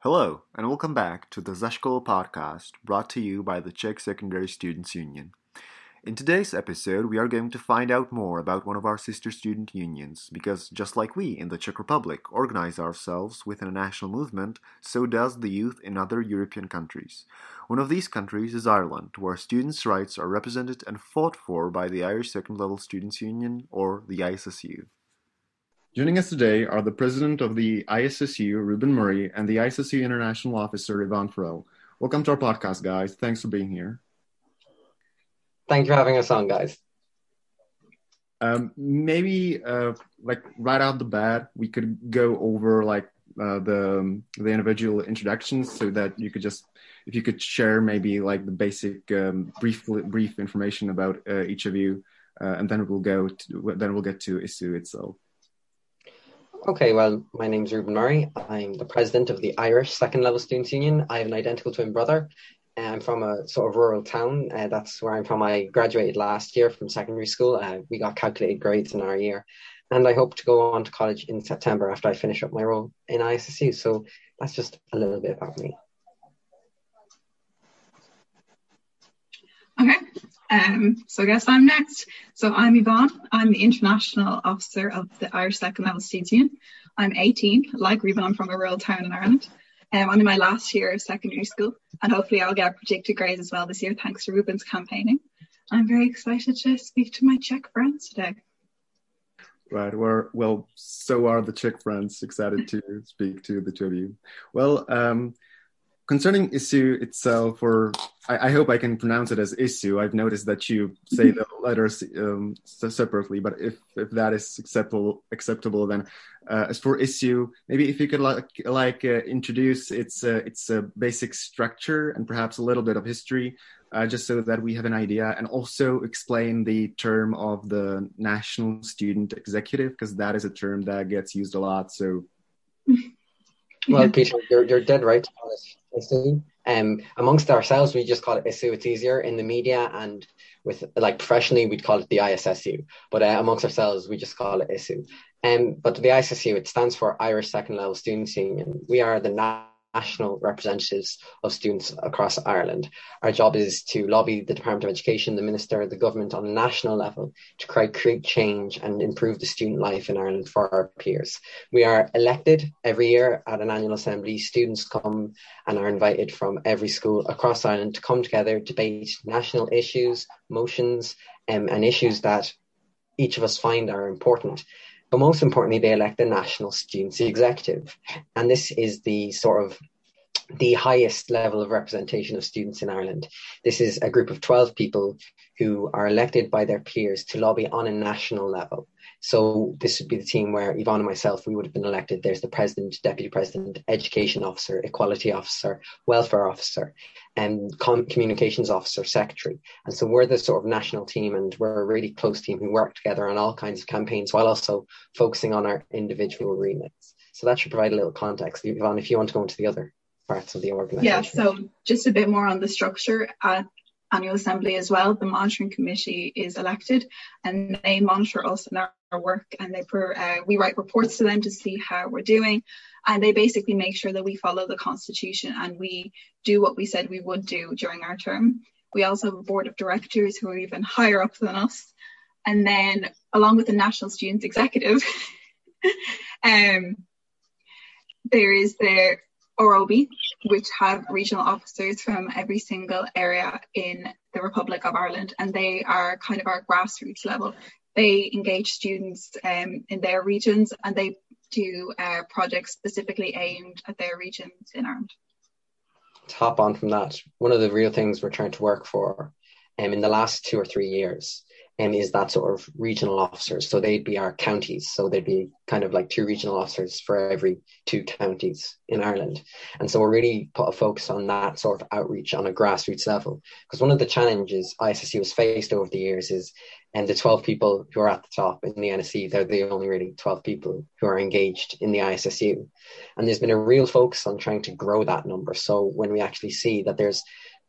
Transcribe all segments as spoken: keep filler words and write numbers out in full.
Hello, and welcome back to the Zashkolo podcast brought to you by the Czech Secondary Students Union. In today's episode, we are going to find out more about one of our sister student unions, because just like we in the Czech Republic organize ourselves within a national movement, so does the youth in other European countries. One of these countries is Ireland, where students' rights are represented and fought for by the Irish Second Level Students Union, or the I S S U. Joining us today are the president of the I S S U, Ruben Murray, and the I S S U International Officer, Ivan Farrell. Welcome to our podcast, guys. Thanks for being here. Thank you for having us on, guys. Um, maybe, uh, like right out the bat, we could go over like uh, the the individual introductions, so that you could just, if you could share maybe like the basic um, brief brief information about uh, each of you, uh, and then we'll go to, then we'll get to I S U itself. Okay, well, my name's Ruben Murray. I'm the president of the Irish Second Level Students Union. I have an identical twin brother. I'm from a sort of rural town. Uh, that's where I'm from. I graduated last year from secondary school. Uh, we got calculated grades in our year. And I hope to go on to college in September after I finish up my role in I S S U. So that's just a little bit about me. Okay, um, so I guess I'm next. So I'm Yvonne. I'm the International Officer of the Irish Second Level Students Union. I'm eighteen. Like Ruben, I'm from a rural town in Ireland. Um, I'm in my last year of secondary school, and hopefully I'll get predicted grades as well this year, thanks to Ruben's campaigning. I'm very excited to speak to my Czech friends today. Right, well, well, so are the Czech friends, excited to speak to the two of you. Well, um, concerning I S U itself, or I, I hope I can pronounce it as I S U. I've noticed that you say the letters um, separately, but if, if that is acceptable, acceptable, then uh, as for I S U, maybe if you could like like uh, introduce its uh, its uh, basic structure and perhaps a little bit of history, uh, just so that we have an idea, and also explain the term of the National Student Executive, because that is a term that gets used a lot. So. Well, Peter, you're, you're dead right to call it I S U. Um, amongst ourselves, we just call it I S U. It's easier in the media, and with like professionally, we'd call it the I S S U. But uh, amongst ourselves, we just call it I S U. Um, but the I S S U, it stands for Irish Second Level Students Union. We are the na- national representatives of students across Ireland. Our job is to lobby the Department of Education, the Minister, the government on a national level to create, create change and improve the student life in Ireland for our peers. We are elected every year at an annual assembly. Students come and are invited from every school across Ireland to come together, debate national issues, motions, um, and issues that each of us find are important. But most importantly, they elect the National Students Executive. And this is the sort of the highest level of representation of students in Ireland. This is a group of twelve people who are elected by their peers to lobby on a national level. So this would be the team where Yvonne and myself, we would have been elected. There's the president, deputy president, education officer, equality officer, welfare officer, and com- communications officer, secretary. And so we're the sort of national team, and we're a really close team who work together on all kinds of campaigns while also focusing on our individual remits. So that should provide a little context. Yvonne, if you want to go into the other parts of the organisation. Yeah, so just a bit more on the structure. At annual assembly as well, the monitoring committee is elected, and they monitor us and our, our work, and they per, uh, we write reports to them to see how we're doing, and they basically make sure that we follow the constitution and we do what we said we would do during our term. We also have a board of directors who are even higher up than us, and then along with the National Students Executive um, there is the R O B, which have regional officers from every single area in the Republic of Ireland, and they are kind of our grassroots level. They engage students um, in their regions, and they do uh, projects specifically aimed at their regions in Ireland. To hop on from that, one of the real things we're trying to work for um, in the last two or three years um, is that sort of regional officers. So they'd be our counties. So they'd be kind of like two regional officers for every two counties in Ireland. And so we're really put a focus on that sort of outreach on a grassroots level. Because one of the challenges I S S U has faced over the years is, and the twelve people who are at the top in the N S E, they're the only really twelve people who are engaged in the I S S U. And there's been a real focus on trying to grow that number. So when we actually see that there's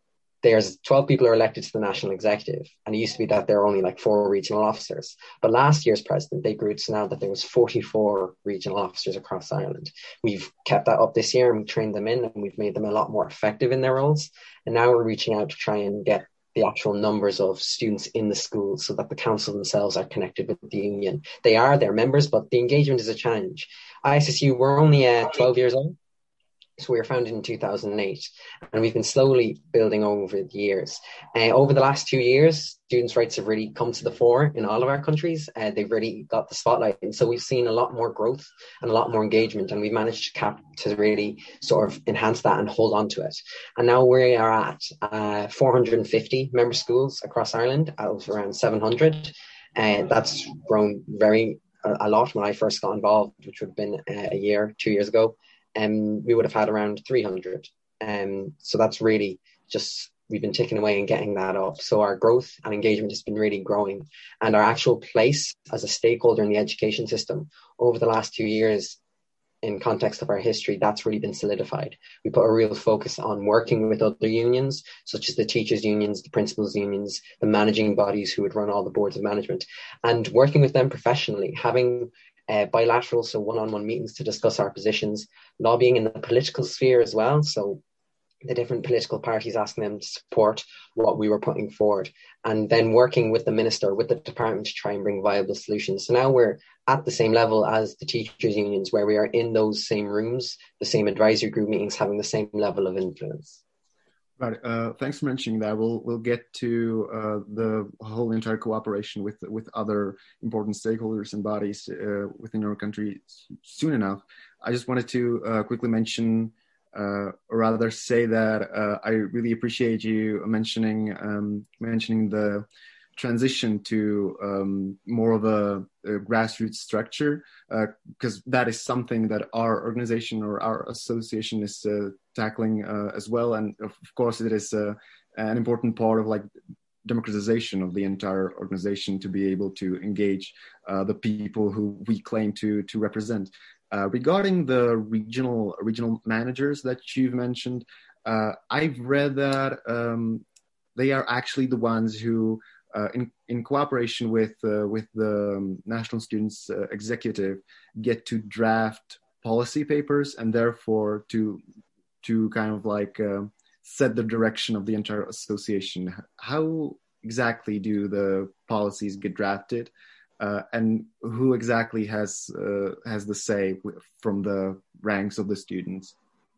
there's twelve people are elected to the national executive, and it used to be that there are only like four regional officers. But last year's president, they grew to now that there was forty-four regional officers across Ireland. We've kept that up this year, and we trained them in, and we've made them a lot more effective in their roles. And now we're reaching out to try and get the actual numbers of students in the schools so that the council themselves are connected with the union. They are their members, but the engagement is a challenge. I S S U, we're only uh, twelve years old. So we were founded in two thousand eight, and we've been slowly building over the years. Uh, over the last two years, students' rights have really come to the fore in all of our countries. Uh, they've really got the spotlight. And so we've seen a lot more growth and a lot more engagement, and we've managed to cap to really sort of enhance that and hold on to it. And now we are at uh, four hundred fifty member schools across Ireland out of around seven hundred. And uh, that's grown very a, a lot when I first got involved, which would have been uh, a year, two years ago. And um, we would have had around three hundred. Um, so that's really just, we've been ticking away and getting that up. So our growth and engagement has been really growing. And our actual place as a stakeholder in the education system over the last two years, in context of our history, that's really been solidified. We put a real focus on working with other unions, such as the teachers' unions, the principals' unions, the managing bodies who would run all the boards of management, and working with them professionally, having Uh, bilateral, so one-on-one meetings to discuss our positions, lobbying in the political sphere as well, so the different political parties asking them to support what we were putting forward, and then working with the minister, with the department to try and bring viable solutions. So now we're at the same level as the teachers' unions, where we are in those same rooms, the same advisory group meetings, having the same level of influence. Right. Uh, thanks for mentioning that. We'll we'll get to uh, the whole entire cooperation with with other important stakeholders and bodies uh, within our country soon enough. I just wanted to uh, quickly mention, uh, or rather say that uh, I really appreciate you mentioning um, mentioning the transition to um, more of a, a grassroots structure, because uh, that is something that our organization or our association is uh, tackling uh, as well. And of course, it is uh, an important part of like democratization of the entire organization to be able to engage uh, the people who we claim to to represent. Uh, regarding the regional regional managers that you've mentioned, uh, I've read that um, they are actually the ones who Uh, in, in cooperation with uh, with the um, National Students uh, Executive, get to draft policy papers and therefore to to kind of like uh, set the direction of the entire association. How exactly do the policies get drafted, uh, and who exactly has uh, has the say from the ranks of the students?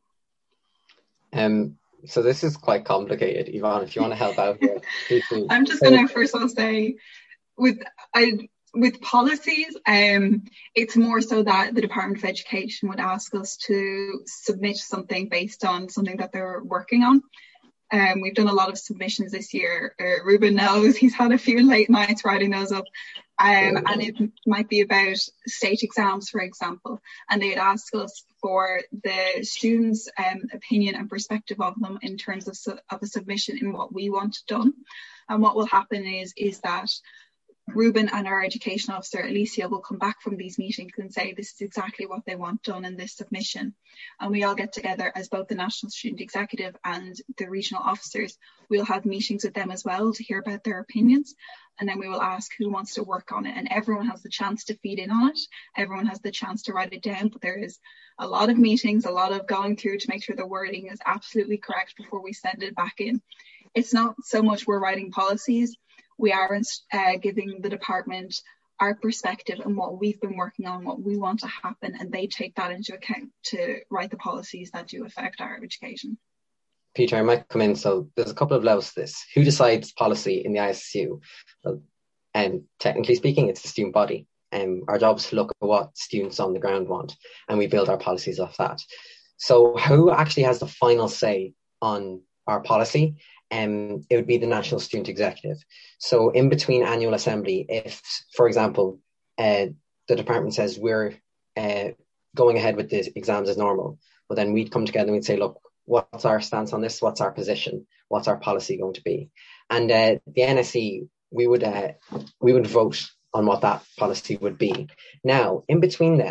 Um. So this is quite complicated, Yvonne. If you want to help out here, I'm just going to first of all say, with I with policies, um, it's more so that the Department of Education would ask us to submit something based on something that they're working on. Um, we've done a lot of submissions this year. Uh, Ruben knows, he's had a few late nights writing those up. Um, and it might be about state exams, for example, and they'd ask us for the students' um, opinion and perspective of them in terms of, su- of a submission in what we want done. And what will happen is, is that Ruben and our education officer, Alicia, will come back from these meetings and say this is exactly what they want done in this submission. And we all get together as both the National Student Executive and the regional officers. We'll have meetings with them as well to hear about their opinions. And then we will ask who wants to work on it. And everyone has the chance to feed in on it. Everyone has the chance to write it down. But there is a lot of meetings, a lot of going through to make sure the wording is absolutely correct before we send it back in. It's not so much we're writing policies. We are uh, giving the department our perspective and what we've been working on, what we want to happen, and they take that into account to write the policies that do affect our education. Peter, I might come in. So there's a couple of levels to this. Who decides policy in the I S S U? Well, um, technically speaking, it's the student body. Um, our job is to look at what students on the ground want, and we build our policies off that. So who actually has the final say on our policy? Um, it would be the National Student Executive. So in between annual assembly, if, for example, uh, the department says we're uh, going ahead with the exams as normal, well, then we'd come together and we'd say, look, what's our stance on this? What's our position? What's our policy going to be? And uh, the N S E, we would uh, we would vote on what that policy would be. Now, in between then,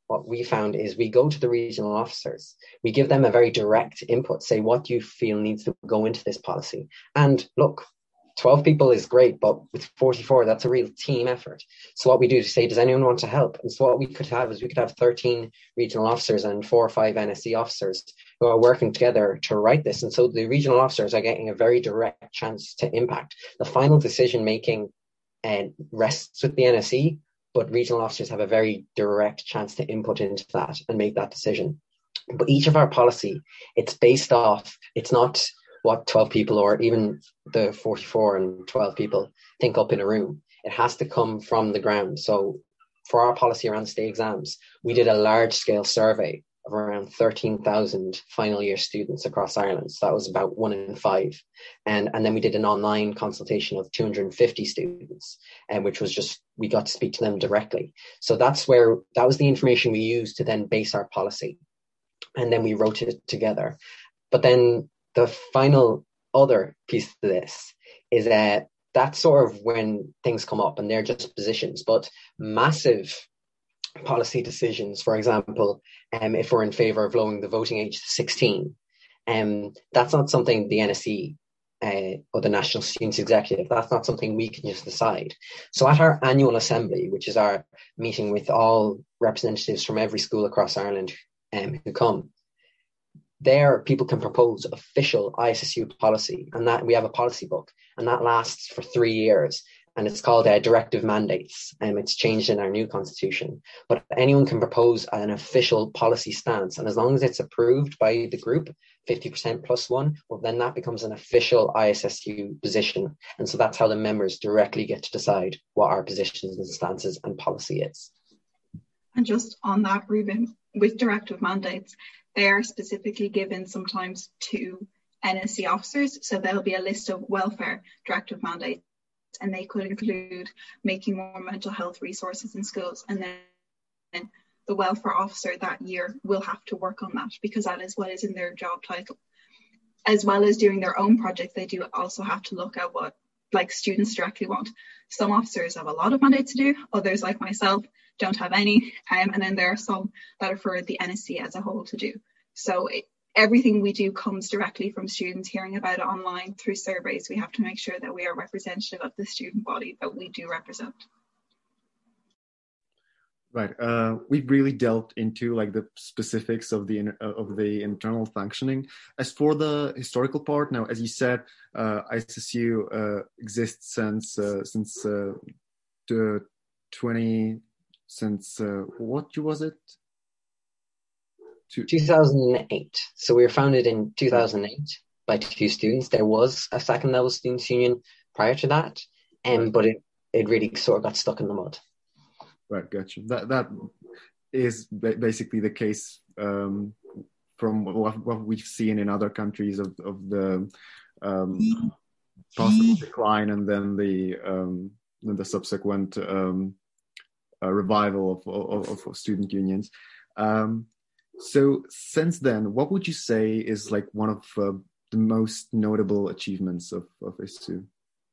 what we found is we go to the regional officers, we give them a very direct input, say, what do you feel needs to go into this policy? And look, twelve people is great, but with forty-four, that's a real team effort. So what we do is say, does anyone want to help? And so what we could have is we could have thirteen regional officers and four or five N S E officers who are working together to write this. And so the regional officers are getting a very direct chance to impact. The final decision making uh, rests with the N S E, but regional officers have a very direct chance to input into that and make that decision. But each of our policy, it's based off, it's not what twelve people or even the forty-four and twelve people think up in a room. It has to come from the ground. So for our policy around state exams, we did a large scale survey of around thirteen thousand final year students across Ireland. So that was about one in five. And, and then we did an online consultation of two hundred fifty students, and which was just, we got to speak to them directly. So that's where, that was the information we used to then base our policy. And then we wrote it together. But then the final other piece to this is that that's sort of when things come up and they're just positions, but massive policy decisions, for example, um, if we're in favour of lowering the voting age to sixteen, um, that's not something the N S E uh, or the National Students Executive, that's not something we can just decide. So at our annual assembly, which is our meeting with all representatives from every school across Ireland um, who come, there people can propose official I S S U policy, and that we have a policy book, and that lasts for three years. And it's called uh, Directive Mandates, and um, it's changed in our new constitution. But anyone can propose an official policy stance, and as long as it's approved by the group, fifty percent plus one, well, then that becomes an official I S S U position. And so that's how the members directly get to decide what our positions and stances and policy is. And just on that, Ruben, with directive mandates, they are specifically given sometimes to N S E officers. So there'll be a list of welfare directive mandates, and they could include making more mental health resources in schools. And then the welfare officer that year will have to work on that, because that is what is in their job title. As well as doing their own projects, they do also have to look at what like students directly want. Some officers have a lot of mandates to do, others like myself don't have any, um, and then there are some that are for the N S E as a whole to do. So it, everything we do comes directly from students hearing about it online through surveys. We have to make sure that we are representative of the student body that we do represent. Right. Uh, we've really delved into like the specifics of the uh, of the internal functioning. As for the historical part, now, as you said, uh, I S S U uh, exists since uh, since uh, the twenty since uh, what year was it? To- two thousand eight. So we were founded in two thousand eight by two students. There was a second level students union prior to that, um, right. but it it really sort of got stuck in the mud. Right, gotcha. That that is basically the case um, from what, what we've seen in other countries of of the um, possible decline and then the um, the subsequent um, uh, revival of, of of student unions. Um, so since then, what would you say is like one of uh, the most notable achievements of of I S S U?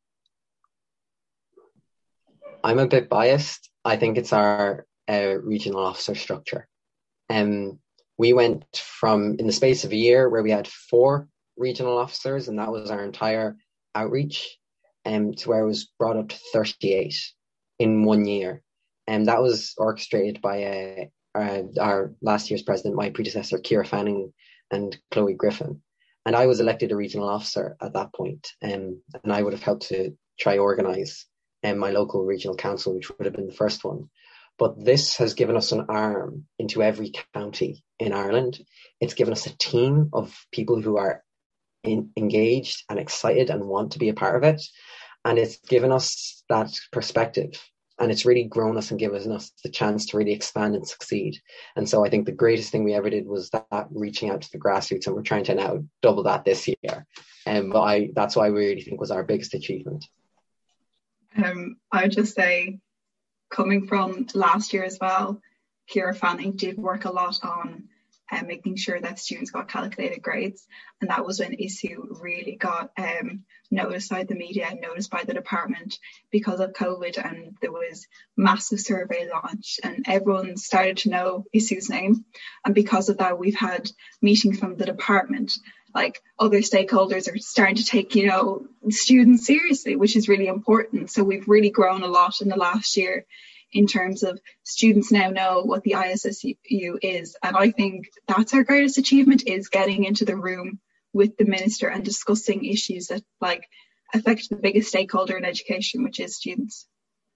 I'm a bit biased. I think it's our uh, regional officer structure. Um, we went from, in the space of a year, where we had four regional officers, and that was our entire outreach, um, to where it was brought up to thirty-eight in one year. And that was orchestrated by uh, our, our last year's president, my predecessor, Ciara Fanning and Chloe Griffin. And I was elected a regional officer at that point, um, and I would have helped to try organise and my local regional council, which would have been the first one. But this has given us an arm into every county in Ireland. It's given us a team of people who are in, engaged and excited and want to be a part of it. And it's given us that perspective. And it's really grown us and given us the chance to really expand and succeed. And so I think the greatest thing we ever did was that, that reaching out to the grassroots, and we're trying to now double that this year. And um, but I that's what I really think was our biggest achievement. Um, I would just say, coming from last year as well, Ciara Fanning did work a lot on and making sure that students got calculated grades. And that was when I S U really got um, noticed by the media and noticed by the department because of COVID, and there was massive survey launch and everyone started to know I S U's name. And because of that, we've had meetings from the department, like other stakeholders are starting to take, you know, students seriously, which is really important. So we've really grown a lot in the last year in terms of students now know what the I S S U is. And I think that's our greatest achievement, is getting into the room with the minister and discussing issues that like affect the biggest stakeholder in education, which is students.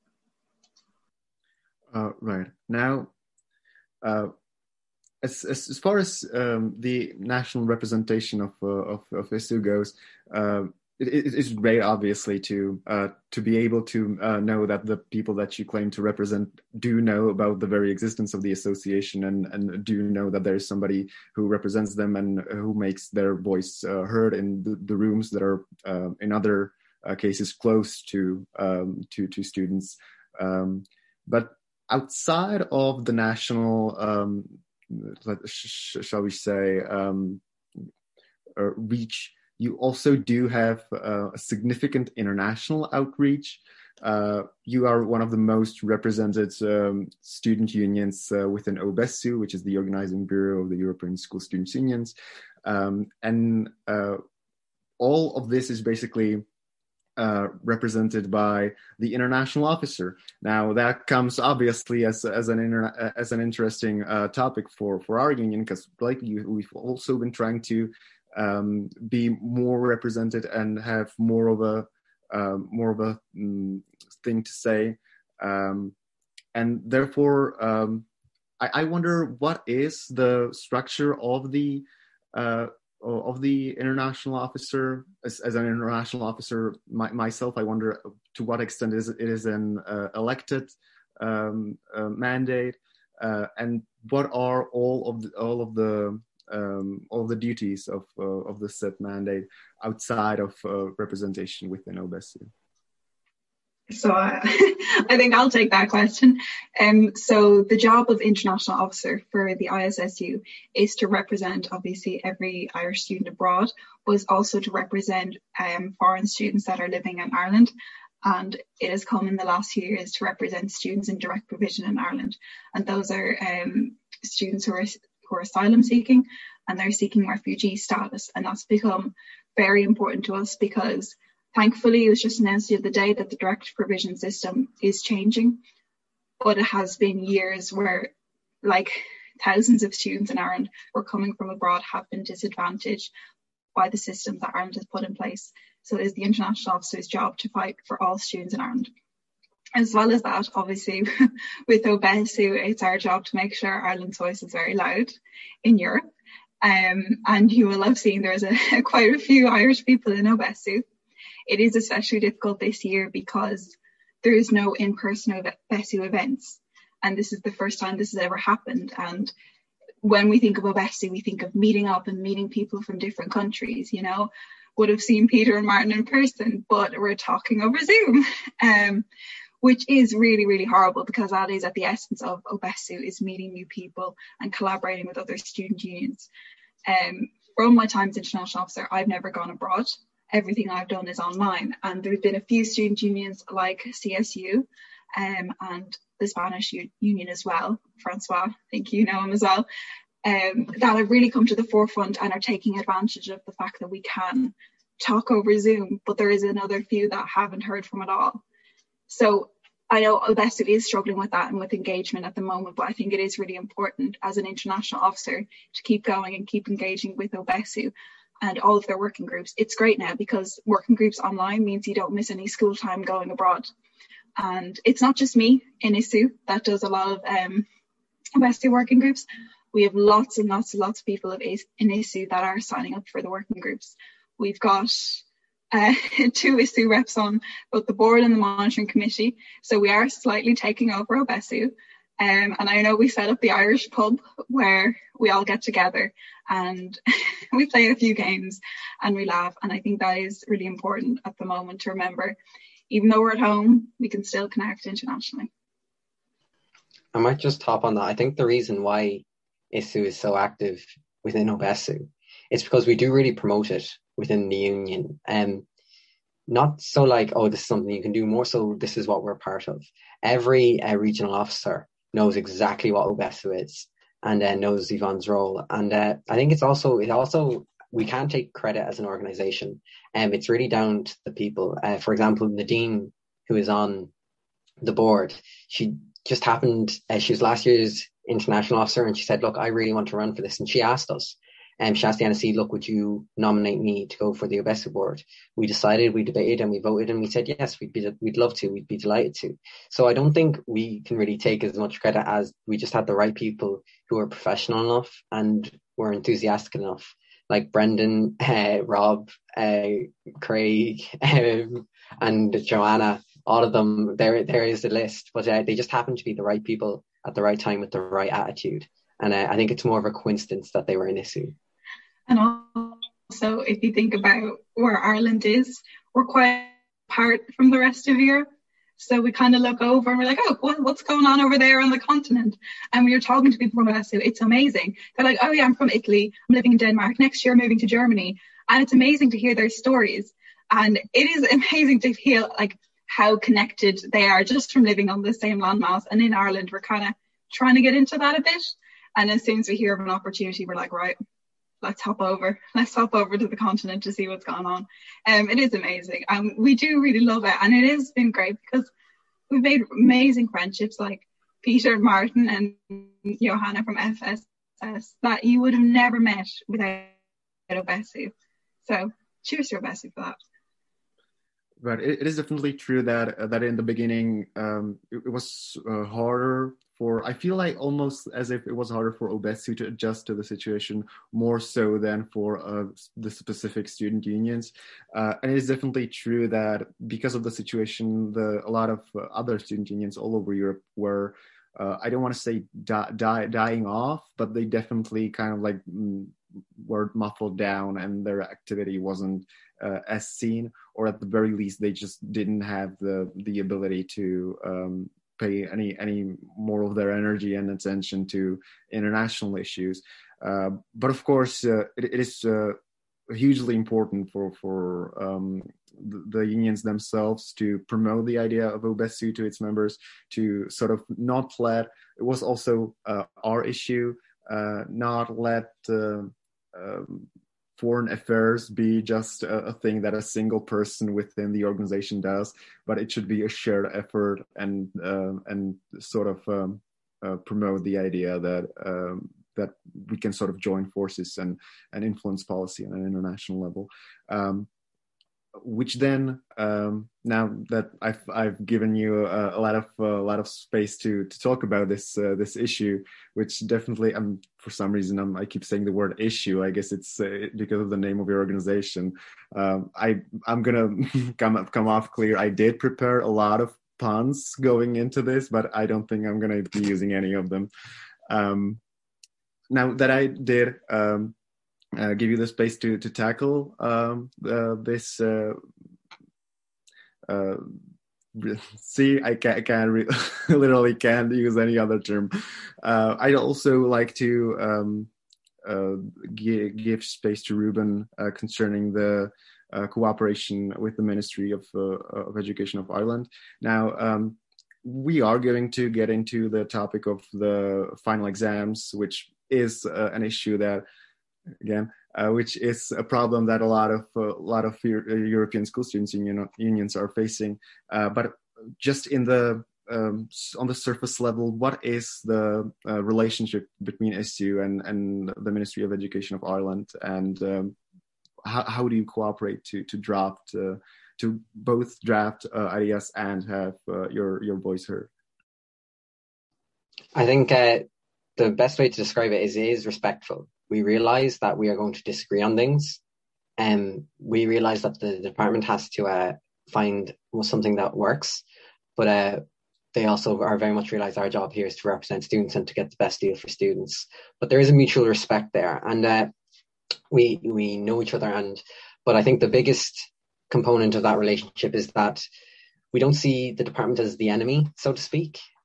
Uh, right. Now, uh, as, as as far as um, the national representation of uh, of, of I S U goes, uh, it, it is great, obviously, to uh, to be able to uh, know that the people that you claim to represent do know about the very existence of the association, and, and do know that there is somebody who represents them and who makes their voice uh, heard in the, the rooms that are uh, in other uh, cases close to um, to to students. Um, but outside of the national, um, shall we say, um, uh, reach, you also do have uh, a significant international outreach. Uh, you are one of the most represented um, student unions uh, within O B E S U, which is the organizing bureau of the European School Students' Unions. Um, and uh, all of this is basically uh, represented by the international officer. Now, that comes obviously as, as, an, inter- as an interesting uh, topic for, for our union, because like you, we've also been trying to Um, be more represented and have more of a uh, more of a um, thing to say, um, and therefore um, I, I wonder what is the structure of the uh, of the international officer. As, as an international officer my, myself, I wonder to what extent it is it is an uh, elected um, uh, mandate, uh, and what are all of the, all of the Um, all the duties of uh, of the said mandate outside of uh, representation within O B E S U. So uh, I think I'll take that question. Um, so the job of international officer for the I S S U is to represent obviously every Irish student abroad, but is also to represent um, foreign students that are living in Ireland. And it has come in the last few years to represent students in direct provision in Ireland. And those are um, students who are who are asylum seeking, and they're seeking refugee status. And that's become very important to us because thankfully it was just announced the other day that the direct provision system is changing, but it has been years where like thousands of students in Ireland who are coming from abroad have been disadvantaged by the system that Ireland has put in place. So it is the international officer's job to fight for all students in Ireland. As well as that, obviously, with O B E S U, it's our job to make sure Ireland's voice is very loud in Europe. Um, and you will have seen there's a, quite a few Irish people in O B E S U. It is especially difficult this year because there is no in-person O B E S U events. And this is the first time this has ever happened. And when we think of O B E S U, we think of meeting up and meeting people from different countries, you know. Would have seen Peter and Martin in person, but we're talking over Zoom. Um, which is really, really horrible because that is at the essence of O B E S U, is meeting new people and collaborating with other student unions. Um, from my time as international officer, I've never gone abroad. Everything I've done is online. And there have been a few student unions like C S U um, and the Spanish U- Union as well, Francois, I think you know him as well, um, that have really come to the forefront and are taking advantage of the fact that we can talk over Zoom, but there is another few that haven't heard from it all. So I know O B E S U is struggling with that and with engagement at the moment, but I think it is really important as an international officer to keep going and keep engaging with O B E S U and all of their working groups. It's great now because working groups online means you don't miss any school time going abroad. And it's not just me in I S U that does a lot of um, O B E S U working groups. We have lots and lots and lots of people in I S U that are signing up for the working groups. We've got Uh, two I S U reps on both the board and the monitoring committee, so we are slightly taking over O B E S U, um, and I know we set up the Irish pub where we all get together and we play a few games and we laugh, and I think that is really important at the moment to remember. Even though we're at home, we can still connect internationally. I might just hop on that. I think the reason why I S U is so active within OBESU. It's because we do really promote it within the union. Um, not so like, oh, this is something you can do, more so this is what we're part of. Every uh, regional officer knows exactly what OBESU is and uh, knows Yvonne's role. And uh, I think it's also, it also, we can't take credit as an organisation. Um, it's really down to the people. Uh, for example, Nadine, who is on the board, she just happened, uh, she was last year's international officer, and she said, look, I really want to run for this. And she asked us, and um, she asked the N S C, look, would you nominate me to go for the OBESU board? We decided, we debated, and we voted, and we said, yes, we'd be, we'd love to, we'd be delighted to. So I don't think we can really take as much credit as we just had the right people who are professional enough and were enthusiastic enough, like Brendan, uh, Rob, uh, Craig, um, and Joanna. All of them, there, there is a list, but uh, they just happen to be the right people at the right time with the right attitude. And uh, I think it's more of a coincidence that they were in I S U. And also, if you think about where Ireland is, we're quite apart from the rest of Europe. So we kind of look over and we're like, oh, what, what's going on over there on the continent? And we were talking to people from I S U. It's amazing. They're like, oh yeah, I'm from Italy. I'm living in Denmark. Next year, I'm moving to Germany. And it's amazing to hear their stories. And it is amazing to feel like how connected they are just from living on the same landmass. And in Ireland, we're kind of trying to get into that a bit. And as soon as we hear of an opportunity, we're like, right, let's hop over. Let's hop over to the continent to see what's going on. Um, it is amazing. Um, we do really love it. And it has been great because we've made amazing friendships like Peter, Martin and Johanna from F S S that you would have never met without OBESU. So cheers to OBESU for that. But it, it is definitely true that uh, that in the beginning um, it, it was uh, harder for, I feel like almost as if it was harder for OBESU to adjust to the situation more so than for uh, the specific student unions. Uh, and it is definitely true that because of the situation, the a lot of uh, other student unions all over Europe were, uh, I don't want to say di- die, dying off, but they definitely kind of like mm, were muffled down and their activity wasn't uh, as seen, or at the very least, they just didn't have the, the ability to um, pay any any more of their energy and attention to international issues. Uh, but of course, uh, it, it is uh, hugely important for for um, the, the unions themselves to promote the idea of OBESU to its members, to sort of not let, it was also uh, our issue, uh, not let uh, um, foreign affairs be just a, a thing that a single person within the organization does, but it should be a shared effort and uh, and sort of um, uh, promote the idea that um, that we can sort of join forces and and influence policy on an international level. Um, which then, um, now that I've I've given you a, a lot of uh, a lot of space to to talk about this uh, this issue, which definitely, um, for some reason I'm, I keep saying the word issue. I guess it's uh, because of the name of your organization. Um, I I'm gonna come come off clear. I did prepare a lot of puns going into this, but I don't think I'm gonna be using any of them. Um, now that I did. Um, Uh, give you the space to to tackle um, uh, this. Uh, uh, see, I can't, I can't re- literally can't use any other term. Uh, I'd also like to um, uh, give, give space to Ruben uh, concerning the uh, cooperation with the Ministry of uh, of Education of Ireland. Now. Um, we are going to get into the topic of the final exams, which is uh, an issue that. Again, uh, which is a problem that a lot of uh, a lot of European school students union, unions are facing. Uh, but just in the um, on the surface level, what is the uh, relationship between I S U and, and the Ministry of Education of Ireland, and um, how, how do you cooperate to to draft uh, to both draft uh, ideas and have uh, your your voice heard? I think uh, the best way to describe it is it is respectful. We realize that we are going to disagree on things, and we realize that the department has to uh, find something that works, but uh, they also are very much realize our job here is to represent students and to get the best deal for students. But there is a mutual respect there, and uh, we we know each other. And but I think the biggest component of that relationship is that we don't see the department as the enemy, so to speak.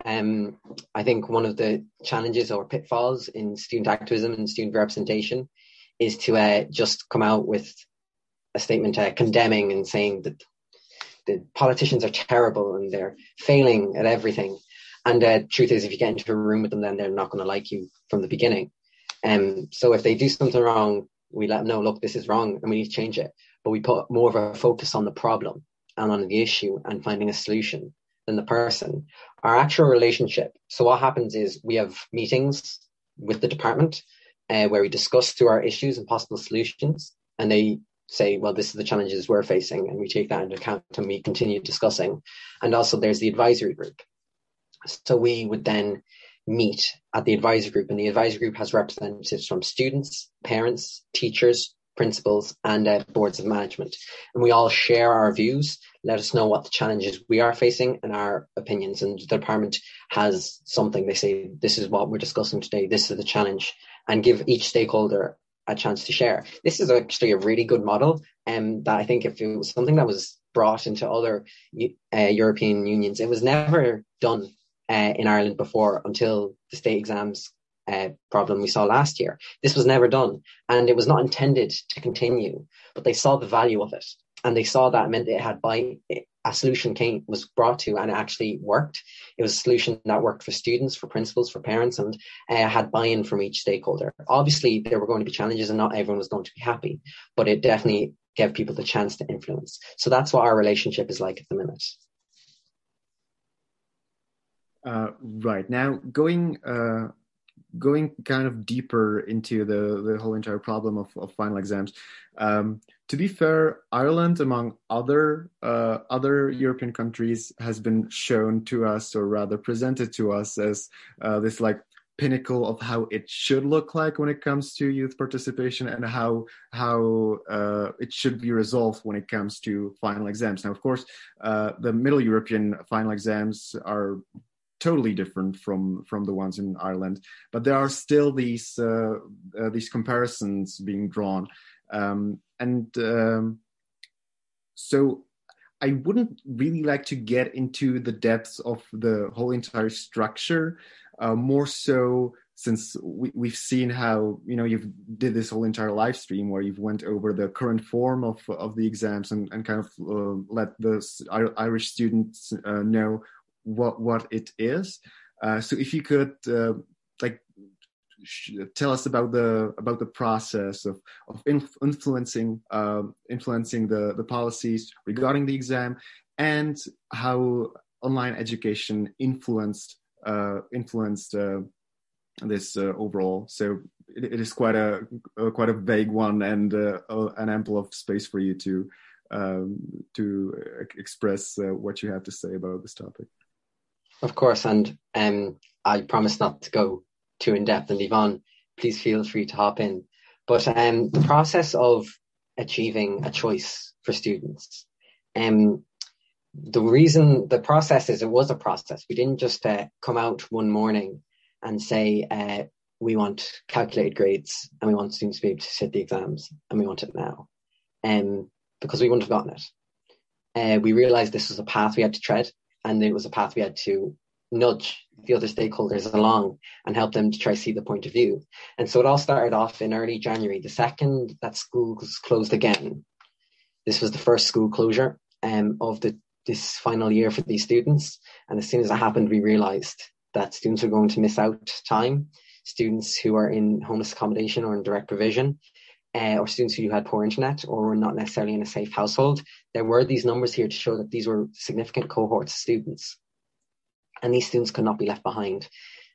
um, I think one of the challenges or pitfalls in student activism and student representation is to uh, just come out with a statement uh, condemning and saying that the politicians are terrible and they're failing at everything. And uh, truth is, if you get into a room with them, then they're not going to like you from the beginning. Um, so if they do something wrong, we let them know, look, this is wrong and we need to change it. But we put more of a focus on the problem and on the issue and finding a solution than the person. Our actual relationship. So what happens is we have meetings with the department uh, where we discuss through our issues and possible solutions. And they say, well, this is the challenges we're facing. And we take that into account and we continue discussing. And also there's the advisory group. So we would then meet at the advisory group, and the advisory group has representatives from students, parents, teachers, principals, and uh, boards of management. And we all share our views, let us know what the challenges we are facing and our opinions. And the department has something, they say, this is what we're discussing today, this is the challenge, and give each stakeholder a chance to share. This is actually a really good model, and um, that I think if it was something that was brought into other uh, European unions, it was never done Uh, in Ireland before until the state exams uh, problem we saw last year. This was never done, and it was not intended to continue, but they saw the value of it, and they saw that it meant it had by a solution came was brought to, and it actually worked. It was a solution that worked for students, for principals, for parents, and uh, had buy-in from each stakeholder. Obviously, there were going to be challenges, and not everyone was going to be happy, but it definitely gave people the chance to influence. So that's what our relationship is like at the minute. Uh, right. Now, going uh, going kind of deeper into the, the whole entire problem of, of final exams, um, to be fair, Ireland, among other uh, other European countries, has been shown to us, or rather presented to us, as uh, this like pinnacle of how it should look like when it comes to youth participation, and how how uh, it should be resolved when it comes to final exams. Now, of course, uh, the Middle European final exams are totally different from from the ones in Ireland, but there are still these uh, uh, these comparisons being drawn, um, and um, so I wouldn't really like to get into the depths of the whole entire structure, uh, more so since we, we've seen how, you know, you've did this whole entire live stream where you've went over the current form of of the exams, and, and kind of uh, let the Irish students uh, know what what it is. Uh, so if you could uh, like sh- tell us about the about the process of of inf- influencing uh, influencing the the policies regarding the exam, and how online education influenced uh, influenced uh, this uh, overall. So it, it is quite a, a quite a vague one, and uh, an ample of space for you to um, to express uh, what you have to say about this topic. Of course, and um, I promise not to go too in-depth, and Yvonne, please feel free to hop in. But um, the process of achieving a choice for students, um, the reason, the process is, it was a process. We didn't just uh, come out one morning and say, uh, we want calculated grades and we want students to be able to sit the exams, and we want it now, um, because we wouldn't have gotten it. Uh, we realized this was a path we had to tread, and it was a path we had to nudge the other stakeholders along and help them to try to see the point of view. And so it all started off in early January, the second that schools closed again. This was the first school closure um, of the this final year for these students. And as soon as that happened, we realized that students were going to miss out time. Students who are in homeless accommodation or in direct provision, Uh, or students who had poor internet or were not necessarily in a safe household. There were these numbers here to show that these were significant cohorts of students, and these students could not be left behind.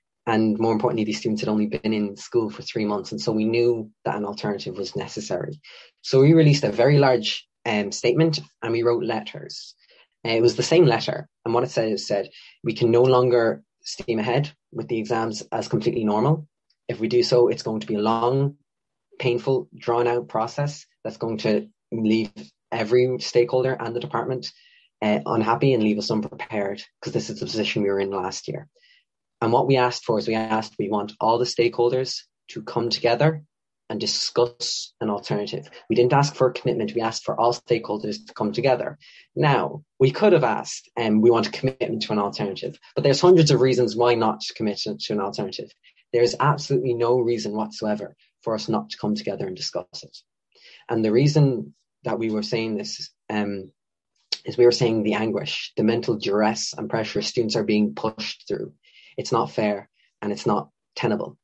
And more importantly, these students had only been in school for three months, and so we knew that an alternative was necessary. So we released a very large um, statement, and we wrote letters. Uh, it was the same letter, and what it said is said, we can no longer steam ahead with the exams as completely normal. If we do so, it's going to be a long, painful, drawn-out process that's going to leave every stakeholder and the department uh, unhappy and leave us unprepared, because this is the position we were in last year. And what we asked for is we asked, we want all the stakeholders to come together and discuss an alternative. We didn't ask for a commitment. We asked for all stakeholders to come together. Now, we could have asked, and um, we want a commitment to an alternative, but there's hundreds of reasons why not to commit to, to an alternative. There's absolutely no reason whatsoever for us not to come together and discuss it. And the reason that we were saying this um, is we were saying the anguish, the mental duress and pressure students are being pushed through. It's not fair and it's not tenable.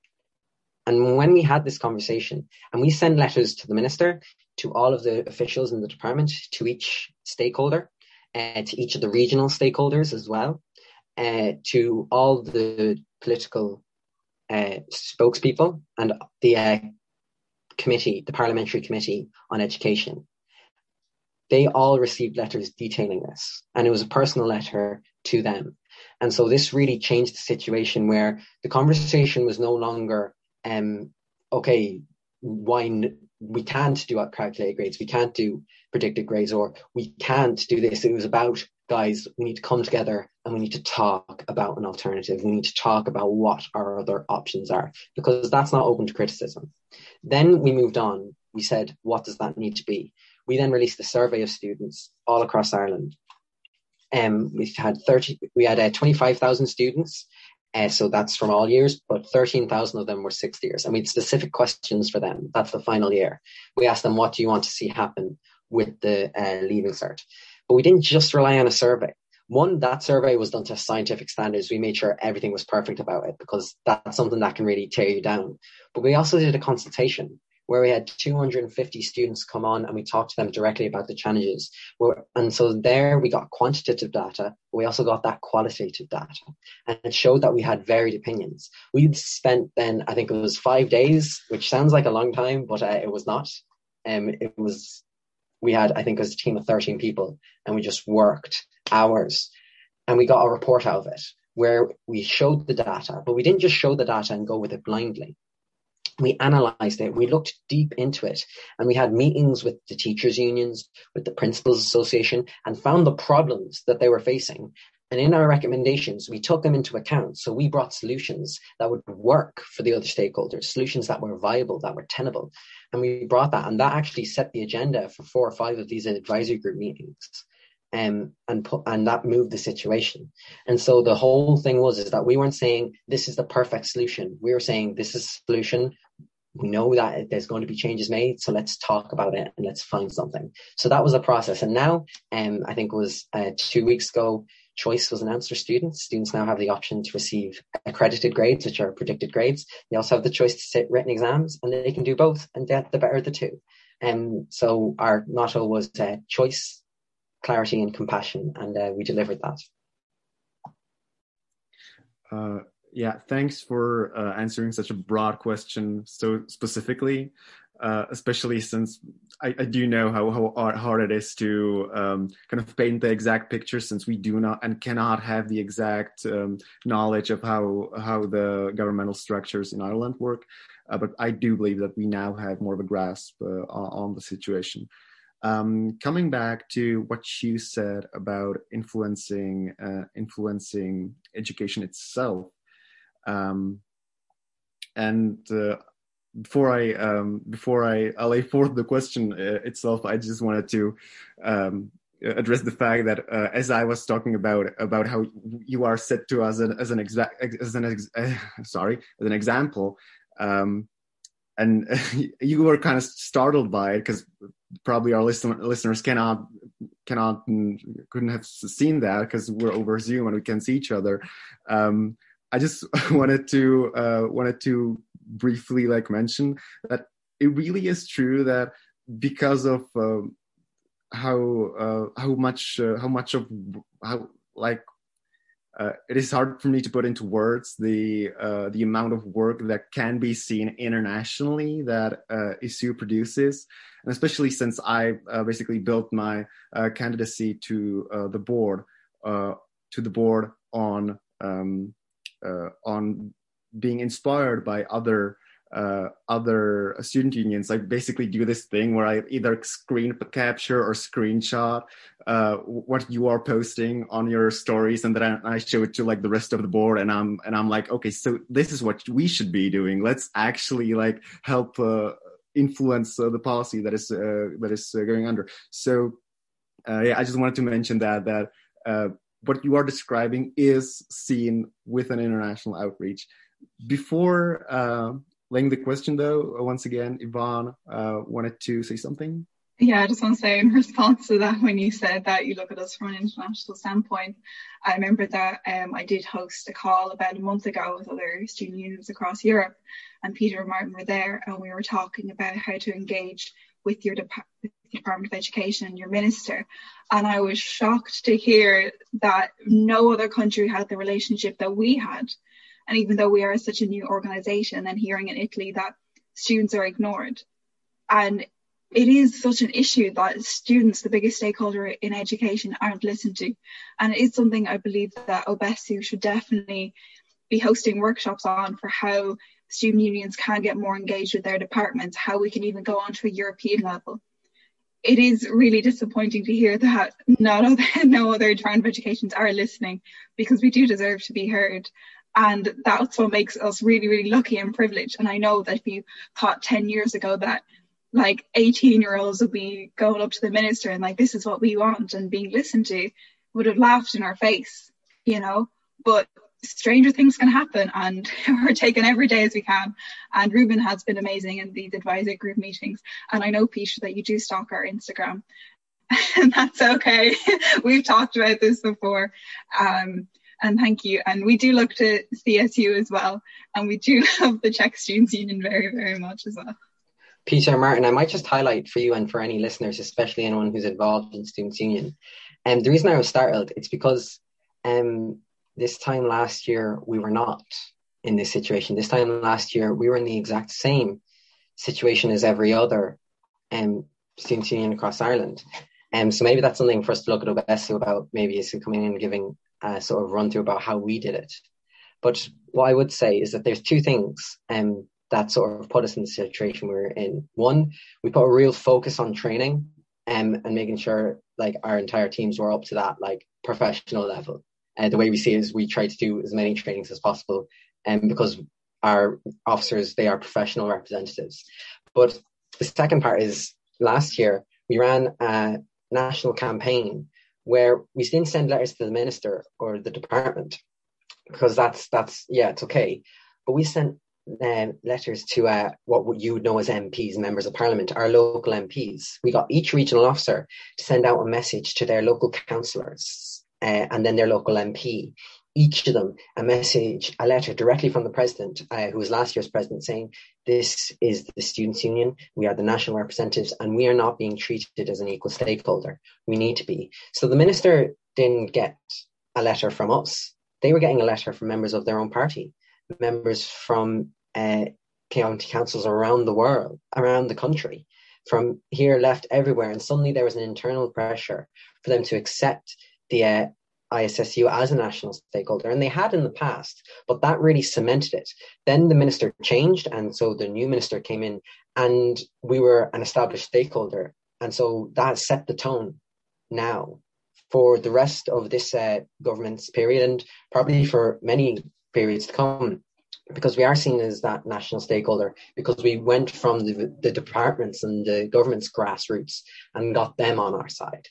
And when we had this conversation, and we send letters to the minister, to all of the officials in the department, to each stakeholder, uh, to each of the regional stakeholders as well, uh, to all the political uh, spokespeople and the uh, committee, the Parliamentary Committee on Education, they all received letters detailing this. And it was a personal letter to them. And so this really changed the situation where the conversation was no longer Um, okay, why n- we can't do calculated grades, we can't do predicted grades, or we can't do this. It was about, guys, we need to come together and we need to talk about an alternative. We need to talk about what our other options are, because that's not open to criticism. Then we moved on. We said, what does that need to be? We then released a survey of students all across Ireland. Um, we've had thirty, we had uh, twenty-five thousand students. Uh, so that's from all years, but thirteen thousand of them were sixth years. And we had specific questions for them. That's the final year. We asked them, what do you want to see happen with the uh, Leaving Cert? But we didn't just rely on a survey. One, that survey was done to scientific standards. We made sure everything was perfect about it, because that's something that can really tear you down. But we also did a consultation where we had two hundred fifty students come on and we talked to them directly about the challenges. And so there we got quantitative data, but we also got that qualitative data. And it showed that we had varied opinions. We spent then, I think it was five days, which sounds like a long time, but uh, it was not. Um, it was, we had, I think it was a team of thirteen people, and we just worked hours. And we got a report out of it where we showed the data, but we didn't just show the data and go with it blindly. We analysed it, we looked deep into it, and we had meetings with the teachers' unions, with the Principals Association, and found the problems that they were facing. And in our recommendations, we took them into account. So we brought solutions that would work for the other stakeholders, solutions that were viable, that were tenable. And we brought that, and that actually set the agenda for four or five of these advisory group meetings. Um, and put, and that moved the situation. And so the whole thing was is that we weren't saying this is the perfect solution. We were saying this is a solution. We know that there's going to be changes made, so let's talk about it and let's find something. So that was a process. And now, um, I think it was uh, two weeks ago, choice was announced for students. Students now have the option to receive accredited grades, which are predicted grades. They also have the choice to sit written exams, and they can do both, and get the better of the two. And um, so our motto was uh, choice, clarity and compassion, and uh, we delivered that. Uh, yeah, thanks for uh, answering such a broad question so specifically, uh, especially since I, I do know how, how hard it is to um, kind of paint the exact picture, since we do not and cannot have the exact um, knowledge of how, how the governmental structures in Ireland work. Uh, but I do believe that we now have more of a grasp uh, on, on the situation. Um, coming back to what you said about influencing uh, influencing education itself, um, and uh, before I um, before I, I lay forth the question uh, itself, I just wanted to um, address the fact that uh, as I was talking about about how you are set to as an as an exact as an ex- uh, sorry as an example. Um, And you were kind of startled by it because probably our listen, listeners cannot cannot couldn't have seen that because we're over Zoom and we can see each other. Um, I just wanted to uh, wanted to briefly like mention that it really is true that because of uh, how uh, how much uh, how much of how like. Uh, it is hard for me to put into words the uh, the amount of work that can be seen internationally that uh, I S U produces, and especially since I uh, basically built my uh, candidacy to uh, the board uh, to the board on um, uh, on being inspired by other uh, other student unions, I basically do this thing where I either screen capture or screenshot uh, what you are posting on your stories, and then I, I show it to like the rest of the board, and I'm and I'm like, okay, so this is what we should be doing. Let's actually like help uh, influence uh, the policy that is uh, that is uh, going under. So uh, yeah, I just wanted to mention that that uh, what you are describing is seen with an international outreach. Before uh, laying the question, though, once again, Yvonne uh, wanted to say something. Yeah, I just want to say in response to that, when you said that you look at us from an international standpoint, I remember that um, I did host a call about a month ago with other student unions across Europe, and Peter and Martin were there, and we were talking about how to engage with your Dep- with the Department of Education and your minister. And I was shocked to hear that no other country had the relationship that we had. And even though we are such a new organisation, and hearing in Italy that students are ignored. And it is such an issue that students, the biggest stakeholder in education, aren't listened to. And it is something I believe that OBESU should definitely be hosting workshops on, for how student unions can get more engaged with their departments, how we can even go on to a European level. It is really disappointing to hear that not other, no other Department of Educations are listening, because we do deserve to be heard. And that's what makes us really, really lucky and privileged. And I know that if you thought ten years ago that like eighteen year olds would be going up to the minister and like, this is what we want, and being listened to, would have laughed in our face, you know. But stranger things can happen, and we're taking every day as we can. And Ruben has been amazing in these advisory group meetings. And I know, Peter, that you do stalk our Instagram, and that's okay. We've talked about this before. Um, and thank you. And we do look to C S U as well. And we do love the Czech Students' Union very, very much as well. Peter, Martin, I might just highlight for you and for any listeners, especially anyone who's involved in Students' Union. And um, the reason I was startled, it's because um, this time last year, we were not in this situation. This time last year, we were in the exact same situation as every other um, Students' Union across Ireland. And um, so maybe that's something for us to look at OBESU about, maybe is coming in and giving a sort of run through about how we did it. But what I would say is that there's two things um, that sort of put us in the situation we were in. One, we put a real focus on training um, and making sure like our entire teams were up to that like professional level. And uh, the way we see it is we try to do as many trainings as possible, and um, because our officers, they are professional representatives. But the second part is last year we ran a national campaign where we didn't send letters to the minister or the department, because that's that's yeah it's okay, but we sent Um, letters to uh, what you would know as M Ps, members of parliament, our local M Ps. We got each regional officer to send out a message to their local councillors uh, and then their local M P. Each of them a message, a letter directly from the president, uh, who was last year's president, saying, this is the Students' Union, we are the national representatives, and we are not being treated as an equal stakeholder. We need to be. So the minister didn't get a letter from us. They were getting a letter from members of their own party, members from uh, county councils around the world, around the country, from here, left, everywhere. And suddenly there was an internal pressure for them to accept the uh, I S S U as a national stakeholder. And they had in the past, but that really cemented it. Then the minister changed, and so the new minister came in, and we were an established stakeholder. And so that set the tone now for the rest of this uh, government's period, and probably for many periods to come, because we are seen as that national stakeholder, because we went from the, the departments and the government's grassroots and got them on our side.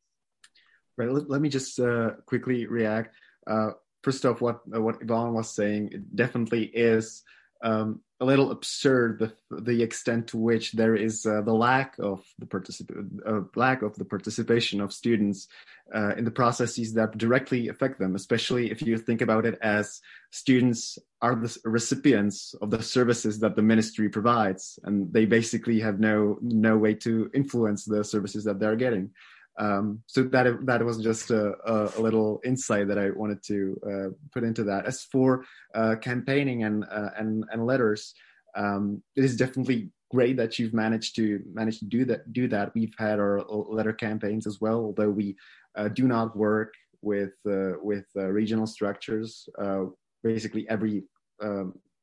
Right. Let, let me just uh, quickly react. Uh, first off, what uh, what Yvonne was saying, it definitely is um, a little absurd, the the extent to which there is uh, the lack of the particip- uh, lack of the participation of students uh, in the processes that directly affect them, especially if you think about it as students are the recipients of the services that the ministry provides, and they basically have no no way to influence the services that they're getting. Um, so that that was just a, a little insight that I wanted to uh, put into that. As for uh, campaigning and uh, and and letters, um, it is definitely great that you've managed to manage to do that. Do that. We've had our letter campaigns as well, although we uh, do not work with uh, with uh, regional structures. Uh, basically, every um,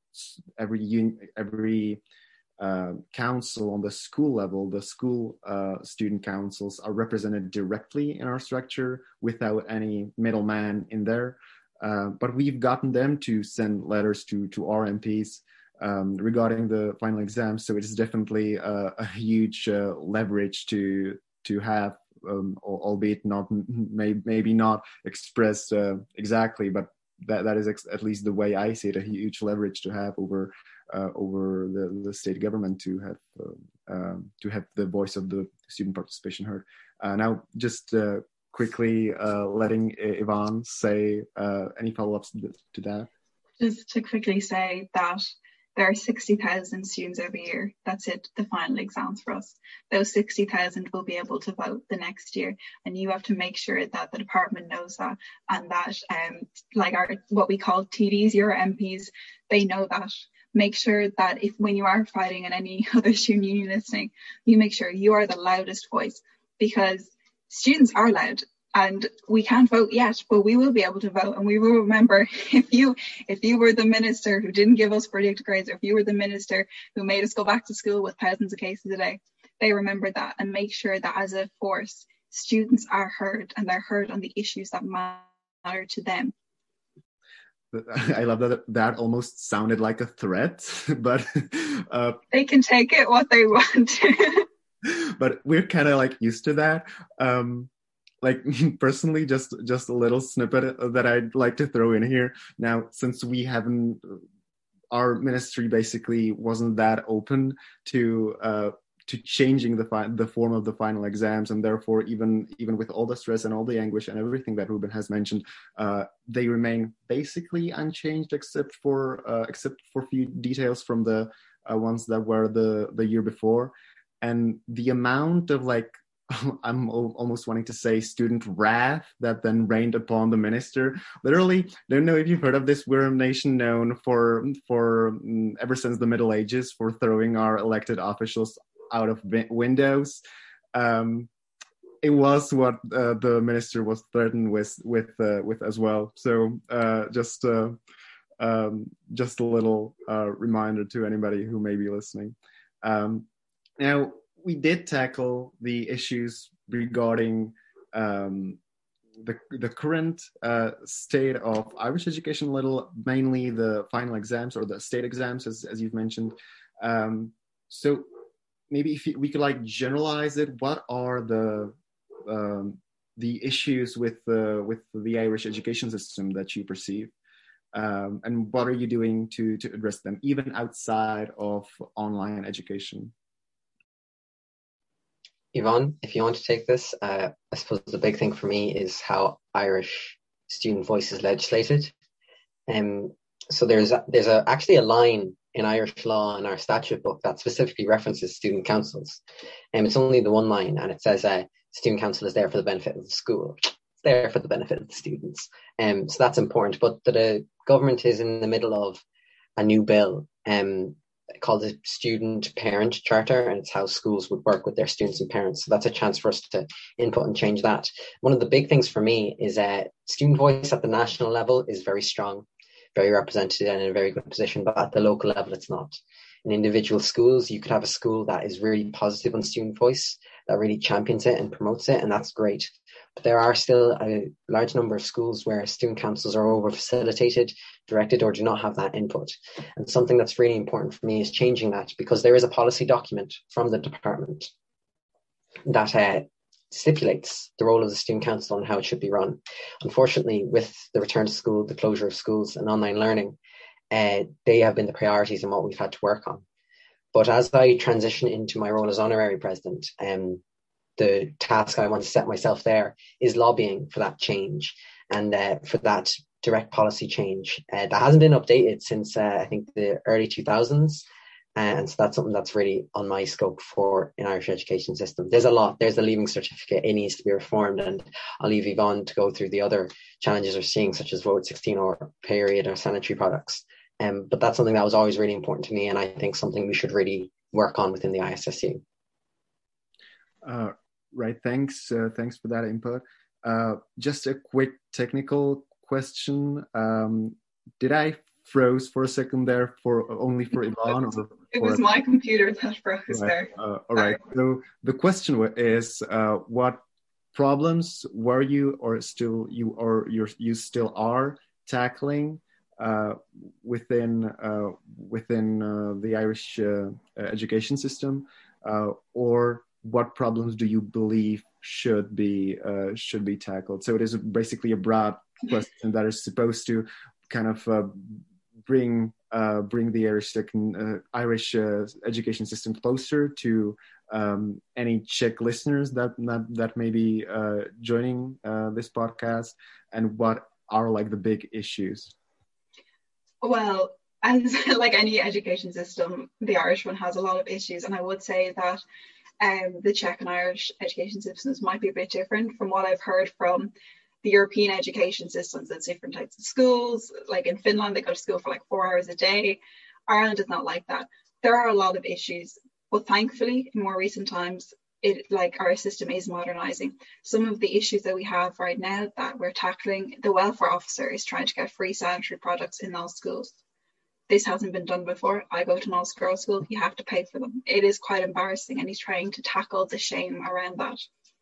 every un- every uh, council on the school level, the school uh, student councils are represented directly in our structure without any middleman in there. Uh, but we've gotten them to send letters to to our M Ps um, regarding the final exams. So it is definitely a, a huge uh, leverage to to have, um, albeit not may, maybe not expressed uh, exactly, but that that is ex- at least the way I see it, a huge leverage to have over uh, over the, the state government to have uh, um, to have the voice of the student participation heard. Uh, now, just uh, quickly uh, letting Yvonne say uh, any follow-ups to that. Just to quickly say that there are sixty thousand students every year. That's it, the final exams for us. Those sixty thousand will be able to vote the next year, and you have to make sure that the department knows that, and that um, like our what we call T Ds, your M Ps, they know that. Make sure that if when you are fighting and any other student union listening, you make sure you are the loudest voice, because students are loud. And we can't vote yet, but we will be able to vote. And we will remember, if you if you were the minister who didn't give us predicted grades, or if you were the minister who made us go back to school with thousands of cases a day, they remember that, and make sure that as a force, students are heard, and they're heard on the issues that matter to them. I love that that almost sounded like a threat, but uh, they can take it what they want. But we're kind of like used to that. Um, like personally, just just a little snippet that I'd like to throw in here. Now, since we haven't, our ministry basically wasn't that open to uh, to changing the fi- the form of the final exams, and therefore even even with all the stress and all the anguish and everything that Ruben has mentioned, uh, they remain basically unchanged except for uh, except for few details from the uh, ones that were the the year before. And the amount of like I'm almost wanting to say student wrath that then rained upon the minister. Literally, don't know if you've heard of this. We're a nation known for for um, ever since the Middle Ages for throwing our elected officials out of windows. Um, it was what uh, the minister was threatened with with uh, with as well. So uh, just uh, um, just a little uh, reminder to anybody who may be listening. Um, now, we did tackle the issues regarding um, the the current uh, state of Irish education, a little, mainly the final exams or the state exams, as as you've mentioned. Um, so maybe if we could like generalize it, what are the um, the issues with the with the Irish education system that you perceive, um, and what are you doing to to address them, even outside of online education? Yvonne, if you want to take this, uh, I suppose the big thing for me is how Irish student voice is legislated. Um, so there's a, there's a, actually a line in Irish law in our statute book that specifically references student councils. And um, it's only the one line, and it says uh, student council is there for the benefit of the school. It's there for the benefit of the students. Um, so that's important. But the, the government is in the middle of a new bill um, called the Student Parent Charter, and it's how schools would work with their students and parents. So that's a chance for us to input and change that. One of the big things for me is that uh, student voice at the national level is very strong, very represented and in a very good position, but at the local level, it's not. In individual schools, you could have a school that is really positive on student voice, that really champions it and promotes it, and that's great. But there are still a large number of schools where student councils are over-facilitated, directed, or do not have that input. And something that's really important for me is changing that, because there is a policy document from the department that uh, stipulates the role of the student council and how it should be run. Unfortunately, with the return to school, the closure of schools and online learning, uh, they have been the priorities and what we've had to work on. But as I transition into my role as honorary president, um, the task I want to set myself there is lobbying for that change and uh, for that direct policy change uh, that hasn't been updated since uh, I think the early two thousands. And so that's something that's really on my scope for an Irish education system. There's a lot. There's the leaving certificate. It needs to be reformed. And I'll leave Yvonne to go through the other challenges we're seeing, such as Vote sixteen or period or sanitary products. Um, but that's something that was always really important to me. And I think something we should really work on within the I S S U. Uh, right. Thanks. Uh, thanks for that input. Uh, just a quick technical question. Um, did I froze for a second there, for only for Yvonne? Or it for was my computer that froze right. there. Uh, all right. So the question is, uh, what problems were you or still you or you're, you still are tackling uh, within uh, within uh, the Irish uh, education system, uh, or what problems do you believe should be uh, should be tackled? So it is basically a broad question that is supposed to kind of uh, bring uh, bring the Irish uh, Irish uh, education system closer to um, any Czech listeners that that, that may be uh, joining uh, this podcast, and what are like the big issues? Well, as like any education system, the Irish one has a lot of issues, and I would say that um, the Czech and Irish education systems might be a bit different from what I've heard from the European education systems. There's different types of schools. Like in Finland, they go to school for like four hours a day. Ireland is not like that. There are a lot of issues, but thankfully, in more recent times, it like our system is modernizing. Some of the issues that we have right now that we're tackling, the welfare officer is trying to get free sanitary products in all schools. This hasn't been done before. I go to an all-girls school, you have to pay for them. It is quite embarrassing, and he's trying to tackle the shame around that.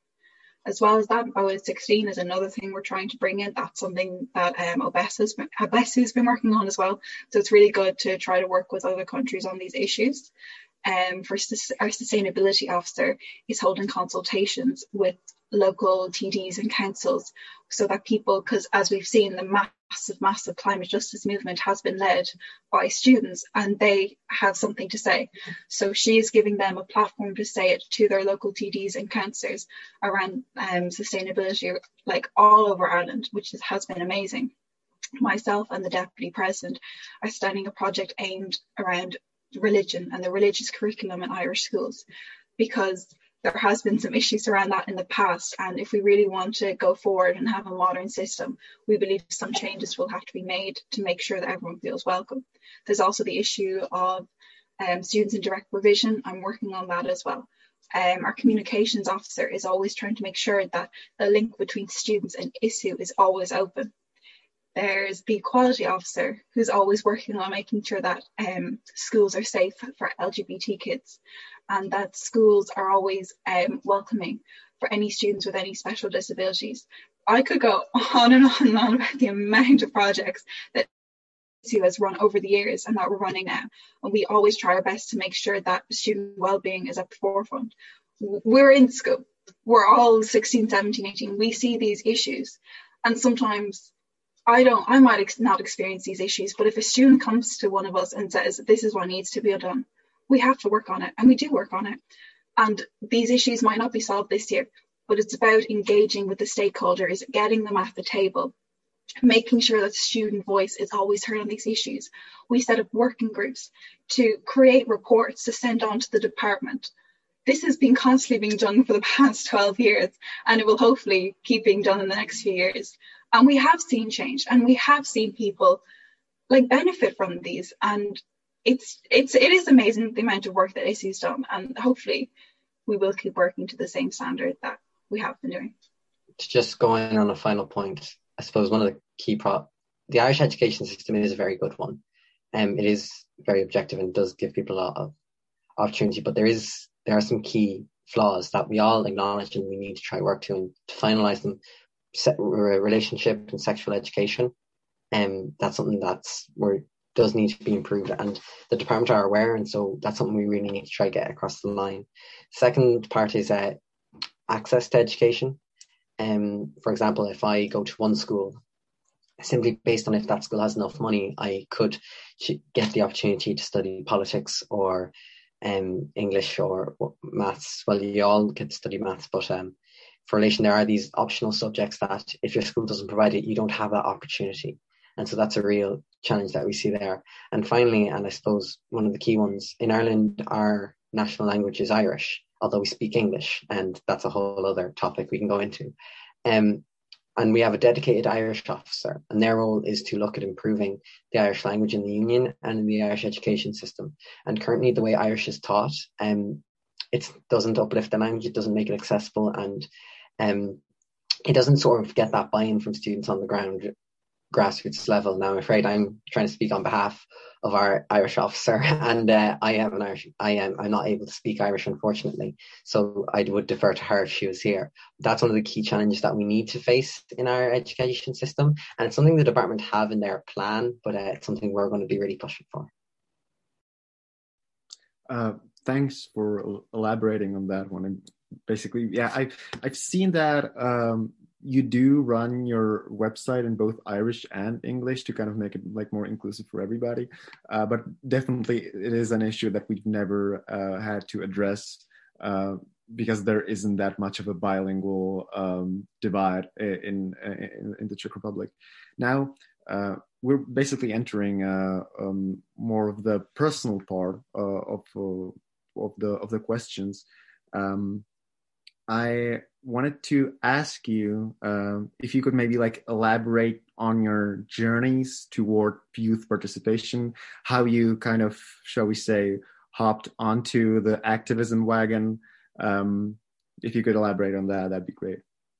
As well as that, O S sixteen is another thing we're trying to bring in. That's something that um, Obesa's been, Obesa's been working on as well. So it's really good to try to work with other countries on these issues. Um, for our sustainability officer is holding consultations with local T Ds and councils so that people, because as we've seen, the massive, massive climate justice movement has been led by students and they have something to say. So she is giving them a platform to say it to their local T Ds and councillors around um, sustainability, like all over Ireland, which is, has been amazing. Myself and the Deputy President are starting a project aimed around religion and the religious curriculum in Irish schools, because there has been some issues around that in the past, and if we really want to go forward and have a modern system, we believe some changes will have to be made to make sure that everyone feels welcome. There's also the issue of um, students in direct provision. I'm working on that as well. Um, our communications officer is always trying to make sure that the link between students and I S U is always open. There's the equality officer who's always working on making sure that um, schools are safe for L G B T kids and that schools are always um, welcoming for any students with any special disabilities. I could go on and on and on about the amount of projects that I S U has run over the years and that we're running now. And we always try our best to make sure that student well-being is at the forefront. We're in school. We're all sixteen, seventeen, eighteen. We see these issues. And sometimes I don't, I might ex- not experience these issues, but if a student comes to one of us and says, this is what needs to be done, we have to work on it, and we do work on it. And these issues might not be solved this year, but it's about engaging with the stakeholders, getting them at the table, making sure that the student voice is always heard on these issues. We set up working groups to create reports to send on to the department. This has been constantly being done for the past twelve years, and it will hopefully keep being done in the next few years. And we have seen change, and we have seen people like benefit from these. And it's it's it is amazing the amount of work that I S U's done, and hopefully we will keep working to the same standard that we have been doing. To just go in on a final point, I suppose one of the key pro the Irish education system is a very good one. Um, it is very objective and does give people a lot of opportunity, but there is there are some key flaws that we all acknowledge and we need to try work to and to finalise them. Se- relationship and sexual education, and um, that's something that's where does need to be improved, and the department are aware, and so that's something we really need to try to get across the line. Second part is uh, access to education. Um, for example, if I go to one school, simply based on if that school has enough money, I could get the opportunity to study politics or um, English or maths. Well, you all get to study maths, but um, for relation, there are these optional subjects that if your school doesn't provide it, you don't have that opportunity. And so that's a real challenge that we see there. And finally, and I suppose one of the key ones, in Ireland, our national language is Irish, although we speak English, and that's a whole other topic we can go into. Um, and we have a dedicated Irish officer, and their role is to look at improving the Irish language in the Union and in the Irish education system. And currently the way Irish is taught, um, it doesn't uplift the language, it doesn't make it accessible, and Um, it doesn't sort of get that buy-in from students on the ground. grassroots level. Now, I'm afraid I'm trying to speak on behalf of our Irish officer, and uh, I am an Irish. I am. I'm not able to speak Irish, unfortunately. So I would defer to her if she was here. That's one of the key challenges that we need to face in our education system, and it's something the department have in their plan, but uh, it's something we're going to be really pushing for. Uh, thanks for elaborating on that one. And basically, yeah, I I've seen that. Um, you do run your website in both Irish and English to kind of make it like more inclusive for everybody. Uh, but definitely it is an issue that we've never uh, had to address uh, because there isn't that much of a bilingual um, divide in, in, in the Czech Republic. Now, uh, we're basically entering uh, um, more of the personal part uh, of, uh, of, the, of the questions. Um, I wanted to ask you um, if you could maybe like elaborate on your journeys toward youth participation, how you kind of, shall we say, hopped onto the activism wagon. Um, if you could elaborate on that, that'd be great.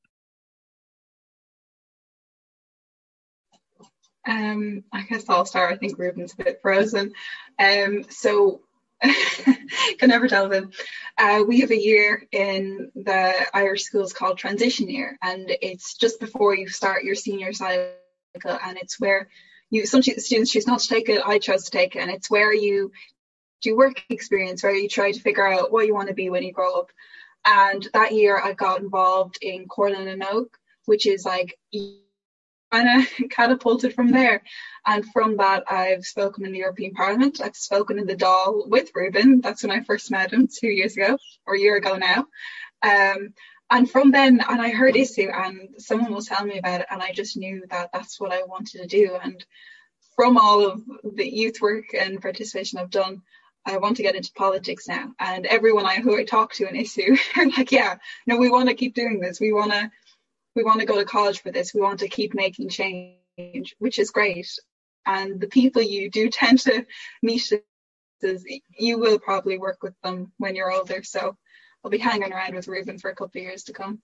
Um, I guess I'll start. I think Ruben's a bit frozen. Um, so can never tell them. Uh, we have a year in the Irish schools called transition year, and it's just before you start your senior cycle, and it's where you some students choose not to take it. I chose to take it, and it's where you do work experience, where you try to figure out what you want to be when you grow up. And that year I got involved in Corlin and Oak, which is like kind of catapulted from there. And from that, I've spoken in the European Parliament. I've spoken in the Dáil with Ruben. That's when I first met him two years ago, or a year ago now. Um, and from then, and I heard ISU, and someone was telling me about it, and I just knew that that's what I wanted to do. And from all of the youth work and participation I've done, I want to get into politics now. And everyone I who I talk to in ISU are like, yeah, no, we want to keep doing this. We want to we want to go to college for this. We want to keep making change, which is great. And the people you do tend to meet, you will probably work with them when you're older. So I'll be hanging around with Ruben for a couple of years to come.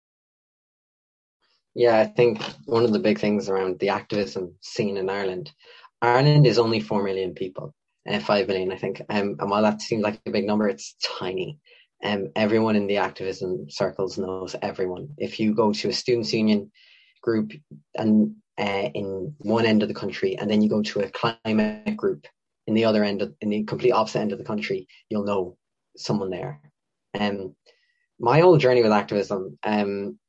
Yeah, I think one of the big things around the activism scene in Ireland, Ireland is only four million people, uh, five million, I think. Um, and while that seems like a big number, it's tiny. Um, everyone in the activism circles knows everyone. If you go to a students' union group and uh, in one end of the country, and then you go to a climate group in the other end, of, in the complete opposite end of the country, you'll know someone there. Um, my whole journey with activism, um,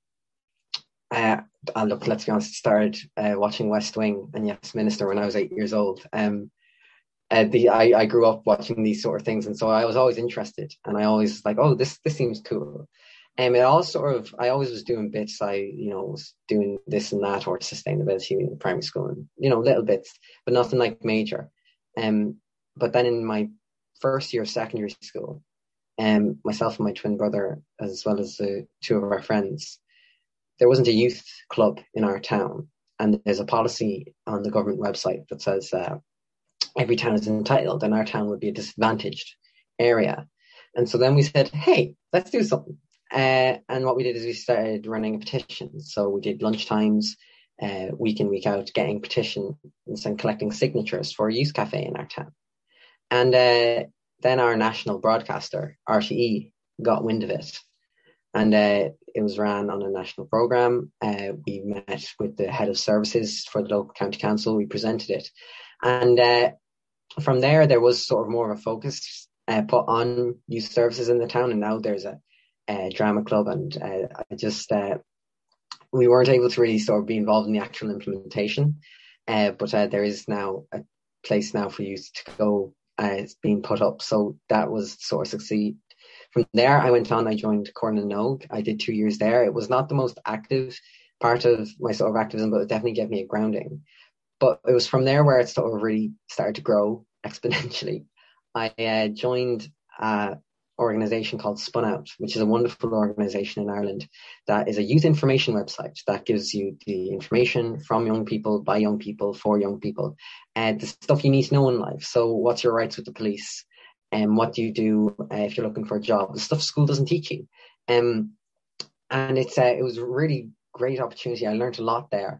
uh, and look, let's be honest, started uh, watching West Wing and Yes Minister when I was eight years old. Um, Uh, the I, I grew up watching these sort of things, and so I was always interested, and I always like, oh, this this seems cool. And um, it all sort of, I always was doing bits. I you know was doing this and that, or sustainability in primary school, and you know little bits, but nothing like major. Um, but then in my first year of secondary school, um, myself and my twin brother, as well as uh, two of our friends, there wasn't a youth club in our town, and there's a policy on the government website that says. Uh, every town is entitled, and our town would be a disadvantaged area. And so then we said, hey, let's do something. Uh, and what we did is we started running a petition. So we did lunch times, uh, week in, week out, getting petitions and collecting signatures for a youth cafe in our town. And uh, then our national broadcaster, R T E, got wind of it. And uh, it was ran on a national programme. Uh, we met with the head of services for the local county council. We presented it. And uh, from there, there was sort of more of a focus uh, put on youth services in the town. And now there's a, a drama club. And uh, I just, uh, we weren't able to really sort of be involved in the actual implementation. Uh, but uh, there is now a place now for youth to go. Uh, it's being put up. So that was sort of succeed. From there, I went on, I joined Corlin and Oak. I did two years there. It was not the most active part of my sort of activism, but it definitely gave me a grounding. But it was from there where it sort of really started to grow exponentially. I uh, joined an organisation called Spun Out, which is a wonderful organisation in Ireland that is a youth information website that gives you the information from young people, by young people, for young people, and the stuff you need to know in life. So what's your rights with the police? And um, what do you do uh, if you're looking for a job? The stuff school doesn't teach you. Um, and it's uh, it was a really great opportunity. I learned a lot there.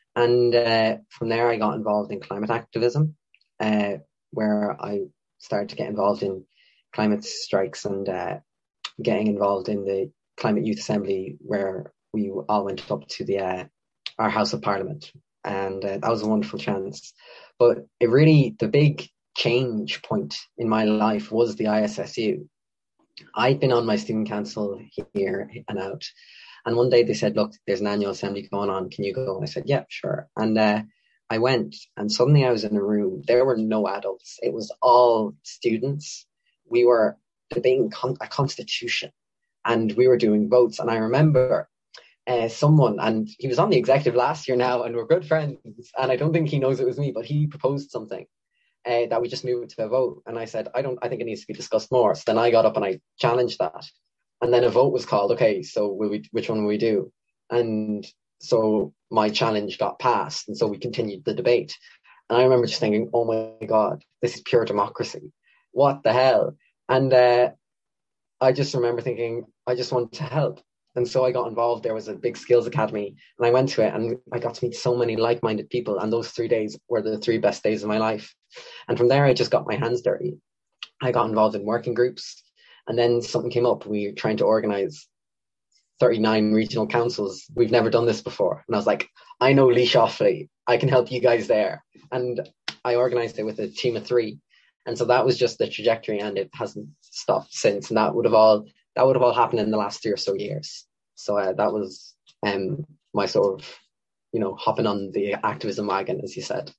And uh, from there, I got involved in climate activism, uh, where I started to get involved in climate strikes and uh, getting involved in the Climate Youth Assembly, where we all went up to the uh, our House of Parliament. And uh, that was a wonderful chance. But it really, the big change point in my life was the I S S U. I'd been on my student council here and out. And one day they said, look, there's an annual assembly going on. Can you go? And I said, yeah, sure. And uh, I went, and suddenly I was in a room. There were no adults. It was all students. We were debating con- a constitution, and we were doing votes. And I remember uh, someone, and he was on the executive last year now, and we're good friends. And I don't think he knows it was me, but he proposed something uh, that we just move it to a vote. And I said, I don't, I think it needs to be discussed more. So then I got up and I challenged that. And then a vote was called. Okay, so will we, which one will we do? And so my challenge got passed. And so we continued the debate. And I remember just thinking, oh my God, this is pure democracy. What the hell? And uh, I just remember thinking, I just want to help. And so I got involved. There was a big skills academy, and I went to it, and I got to meet so many like-minded people. And those three days were the three best days of my life. And from there, I just got my hands dirty. I got involved in working groups. And then something came up. We were trying to organize thirty-nine regional councils. We've never done this before. And I was like, I know Lee Shoffley. I can help you guys there. And I organized it with a team of three. And so that was just the trajectory, and it hasn't stopped since. And that would have all that would have all happened in the last three or so years. So uh, that was um, my sort of, you know, hopping on the activism wagon, as you said.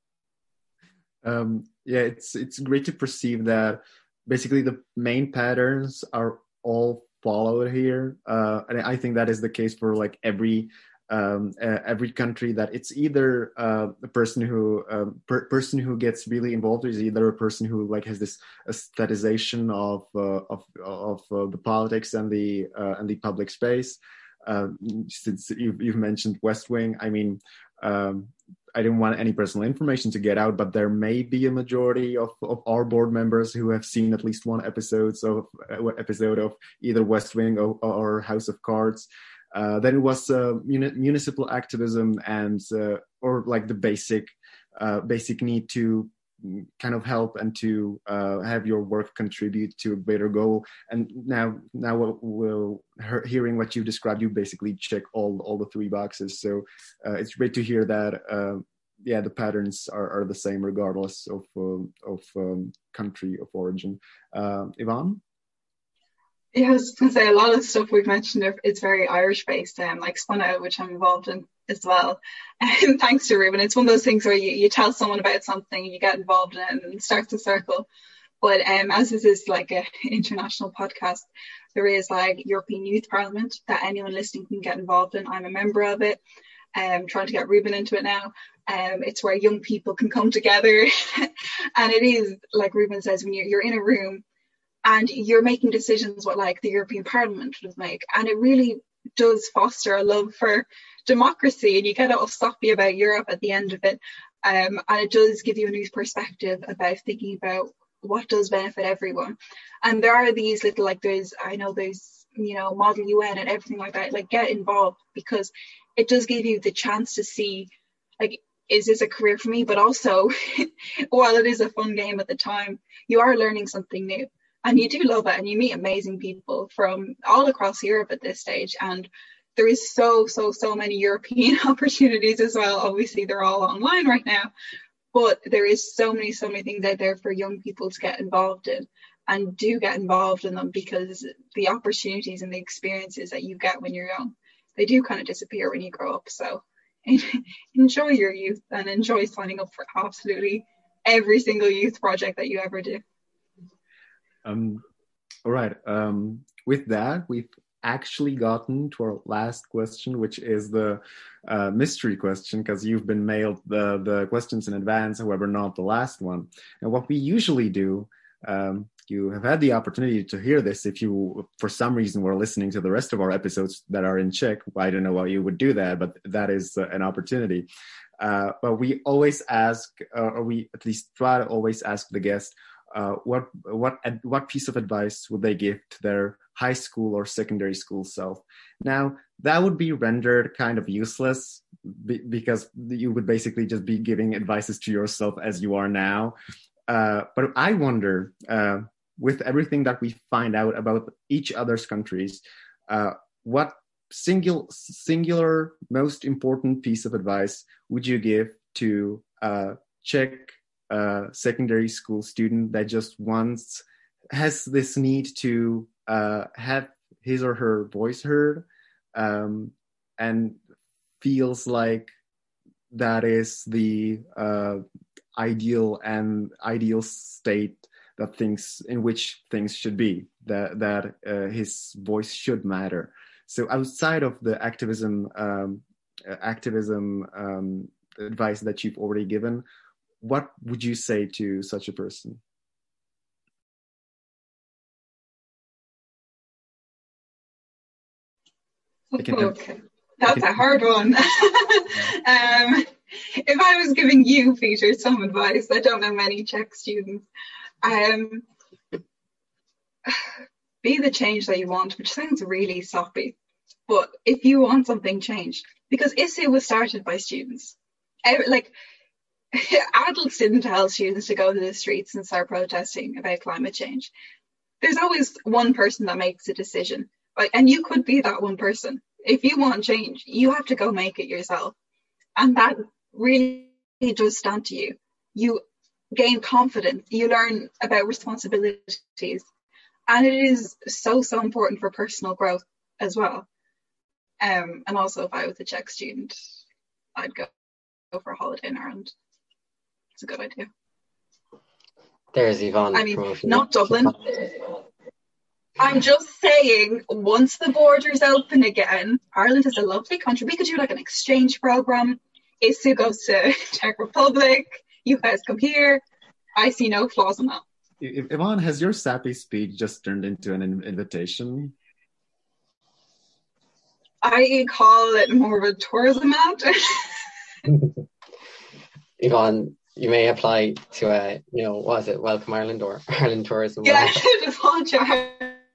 Um, yeah, it's it's great to perceive that basically the main patterns are all followed here, uh, and I think that is the case for like every um, uh, every country. That it's either uh, a person who um, per- person who gets really involved is either a person who like has this aestheticization of uh, of of uh, the politics and the uh, and the public space. Uh, since you've, you've mentioned West Wing, I mean. Um, I didn't want any personal information to get out, but there may be a majority of, of our board members who have seen at least one episodes of uh, episode of either West Wing or, or House of Cards. Uh, then it was uh, muni- municipal activism and uh, or like the basic uh, basic need to kind of help and to uh, have your work contribute to a greater goal. And now, now we'll, we'll hearing what you described, you basically check all all the three boxes. So uh, it's great to hear that. Uh, yeah, the patterns are, are the same regardless of um, of um, country of origin. Uh, Yvonne? Yeah, I was going to say a lot of stuff we've mentioned, it's very Irish based, um, like Spun Out, which I'm involved in as well. And thanks to Ruben, it's one of those things where you, you tell someone about something, you get involved in it, and it starts a circle. But um, as this is like an international podcast, there is like European Youth Parliament that anyone listening can get involved in. I'm a member of it. I'm um, trying to get Ruben into it now. Um, it's where young people can come together. And it is, like Ruben says, when you're, you're in a room, and you're making decisions what like the European Parliament would make. And it really does foster a love for democracy, and you get all sloppy about Europe at the end of it. Um, and it does give you a new perspective about thinking about what does benefit everyone. And there are these little, like there's, I know there's, you know, Model U N and everything like that, like get involved, because it does give you the chance to see, like, is this a career for me? But also, while it is a fun game at the time, you are learning something new. And you do love it, and you meet amazing people from all across Europe at this stage. And there is so, so, so many European opportunities as well. Obviously, they're all online right now. But there is so many, so many things out there for young people to get involved in. And do get involved in them, because the opportunities and the experiences that you get when you're young, they do kind of disappear when you grow up. So enjoy your youth and enjoy signing up for absolutely every single youth project that you ever do. Um, all right. Um, with that, we've actually gotten to our last question, which is the uh, mystery question, because you've been mailed the, the questions in advance, however, not the last one. And what we usually do, um, you have had the opportunity to hear this if you, for some reason, were listening to the rest of our episodes that are in Czech. I don't know why you would do that, but that is uh, an opportunity. Uh, but we always ask, uh, or we at least try to always ask the guest, Uh, what what what piece of advice would they give to their high school or secondary school self. Now, that would be rendered kind of useless be- because you would basically just be giving advices to yourself as you are now. Uh, but I wonder, uh, with everything that we find out about each other's countries, uh, what single, singular, most important piece of advice would you give to a Czech uh, secondary school student that just wants, has this need to uh, have his or her voice heard, um, and feels like that is the uh, ideal and ideal state that things in which things should be, that that uh, his voice should matter. So outside of the activism um, uh, activism um, advice that you've already given, what would you say to such a person? Okay, that's a hard one. um, if I was giving you, Peter, some advice, I don't know many Czech students, um, be the change that you want, which sounds really soppy, but if you want something changed, because I S U was started by students, like adults didn't tell students to go to the streets and start protesting about climate change. There's always one person that makes a decision, right? And you could be that one person. If you want change, you have to go make it yourself. And that really does stand to you. You gain confidence, you learn about responsibilities. And it is so, so important for personal growth as well. Um, and also, if I was a Czech student, I'd go, go for a holiday in Ireland. It's a good idea. There's Yvonne. I mean, not Dublin. I'm just saying, once the borders open again, Ireland is a lovely country. We could do like an exchange program. I S U goes to Czech Republic. You guys come here. I see no flaws in that. Yvonne, has your sappy speech just turned into an invitation? I call it more of a tourism ad. Yvonne, you may apply to a, you know, what is it, Welcome Ireland or Ireland Tourism? Yeah, just launch your.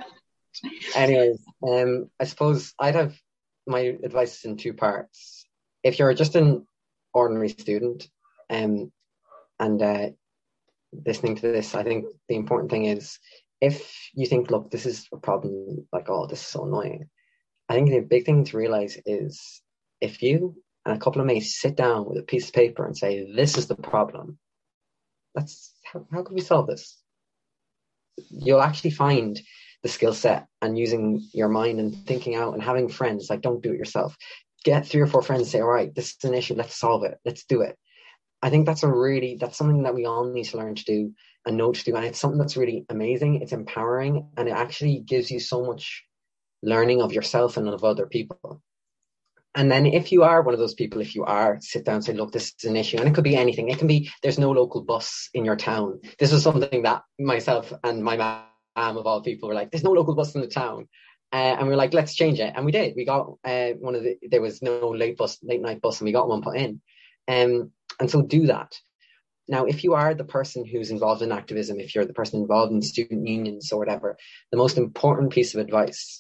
Anyways, um, I suppose I'd have my advice in two parts. If you're just an ordinary student, um, and uh, listening to this, I think the important thing is, if you think, look, this is a problem, like, oh, this is so annoying, I think the big thing to realize is, if you and a couple of mates sit down with a piece of paper and say, this is the problem, that's how, how can we solve this? You'll actually find the skill set, and using your mind and thinking out and having friends. Like, don't do it yourself. Get three or four friends and say, all right, this is an issue, let's solve it, let's do it. I think that's a really, that's something that we all need to learn to do and know to do. And it's something that's really amazing. It's empowering, and it actually gives you so much learning of yourself and of other people. And then if you are one of those people, if you are, sit down and say, look, this is an issue. And it could be anything. It can be, there's no local bus in your town. This was something that myself and my mom, of all people, were like, there's no local bus in the town. Uh, and we were like, let's change it. And we did. We got uh, one of the, there was no late bus, late night bus, and we got one put in. Um, and so do that. Now, if you are the person who's involved in activism, if you're the person involved in student unions or whatever, the most important piece of advice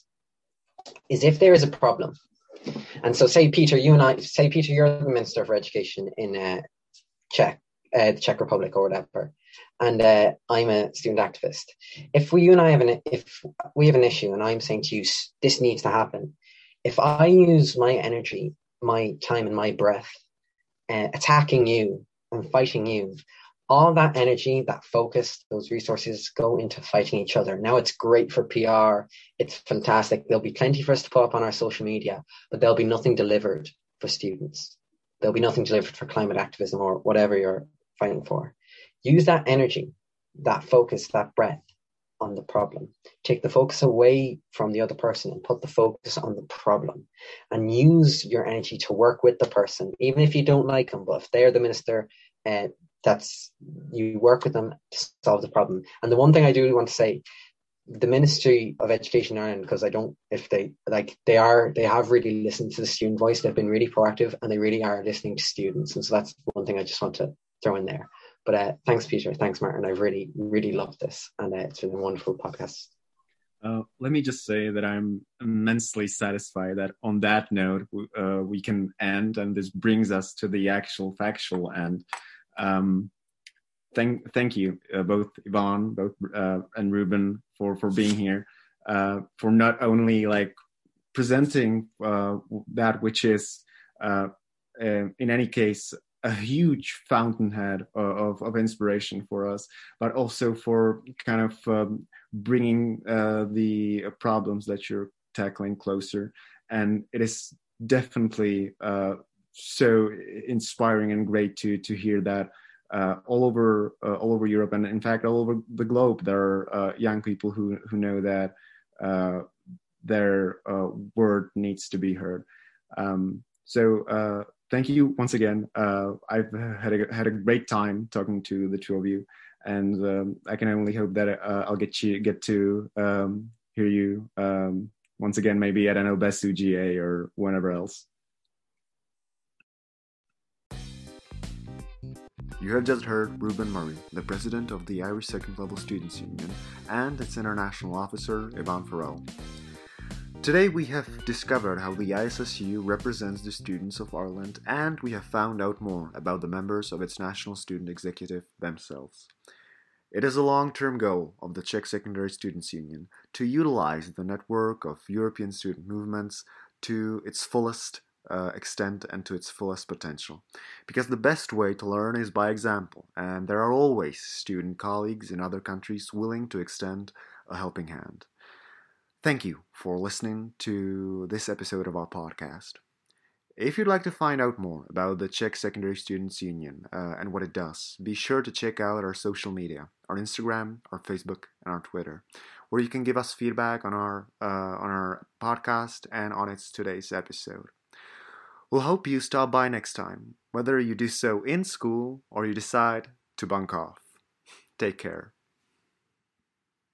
is, if there is a problem, and so say, Peter, you and I, say, Peter, you're the Minister for Education in uh, Czech, uh, the Czech Republic or whatever, and uh, I'm a student activist. If we, you and I have an, if we have an issue and I'm saying to you, this needs to happen, if I use my energy, my time and my breath uh, attacking you and fighting you, all that energy, that focus, those resources go into fighting each other. Now, it's great for P R. It's fantastic. There'll be plenty for us to put up on our social media, but there'll be nothing delivered for students. There'll be nothing delivered for climate activism or whatever you're fighting for. Use that energy, that focus, that breath on the problem. Take the focus away from the other person and put the focus on the problem, and use your energy to work with the person, even if you don't like them. But if they're the minister, uh, that's, you work with them to solve the problem. And the one thing I do want to say, the Ministry of Education in Ireland, because I don't, if they, like, they are, they have really listened to the student voice. They've been really proactive, and they really are listening to students. And so that's one thing I just want to throw in there. But uh, thanks, Peter. Thanks, Martin. I've really, really loved this. And uh, it's been a wonderful podcast. Uh, let me just say that I'm immensely satisfied that on that note uh, we can end, and this brings us to the actual factual end. Um, thank, thank you, uh, both Yvonne, both uh, and Ruben, for for being here, uh, for not only like presenting uh, that which is, uh, uh, in any case, a huge fountainhead of, of inspiration for us, but also for kind of um, bringing uh, the problems that you're tackling closer. And it is definitely uh, so inspiring and great to to hear that uh, all over uh, all over Europe, and in fact all over the globe, there are uh, young people who who know that uh, their uh, word needs to be heard. Um, so uh, thank you once again. Uh, I've had a, had a great time talking to the two of you, and um, I can only hope that uh, I'll get you get to um, hear you um, once again, maybe at an OBESU G A or whenever else. You have just heard Ruben Murray, the president of the Irish Second Level Students' Union, and its international officer, Yvonne Farrell. Today we have discovered how the I S S U represents the students of Ireland, and we have found out more about the members of its National Student Executive themselves. It is a long-term goal of the Czech Secondary Students' Union to utilize the network of European student movements to its fullest uh, extent and to its fullest potential. Because the best way to learn is by example, and there are always student colleagues in other countries willing to extend a helping hand. Thank you for listening to this episode of our podcast. If you'd like to find out more about the Czech Secondary Students' Union uh, and what it does, be sure to check out our social media, our Instagram, our Facebook, and our Twitter, where you can give us feedback on our uh, on our podcast and on its today's episode. We'll hope you stop by next time, whether you do so in school or you decide to bunk off. Take care.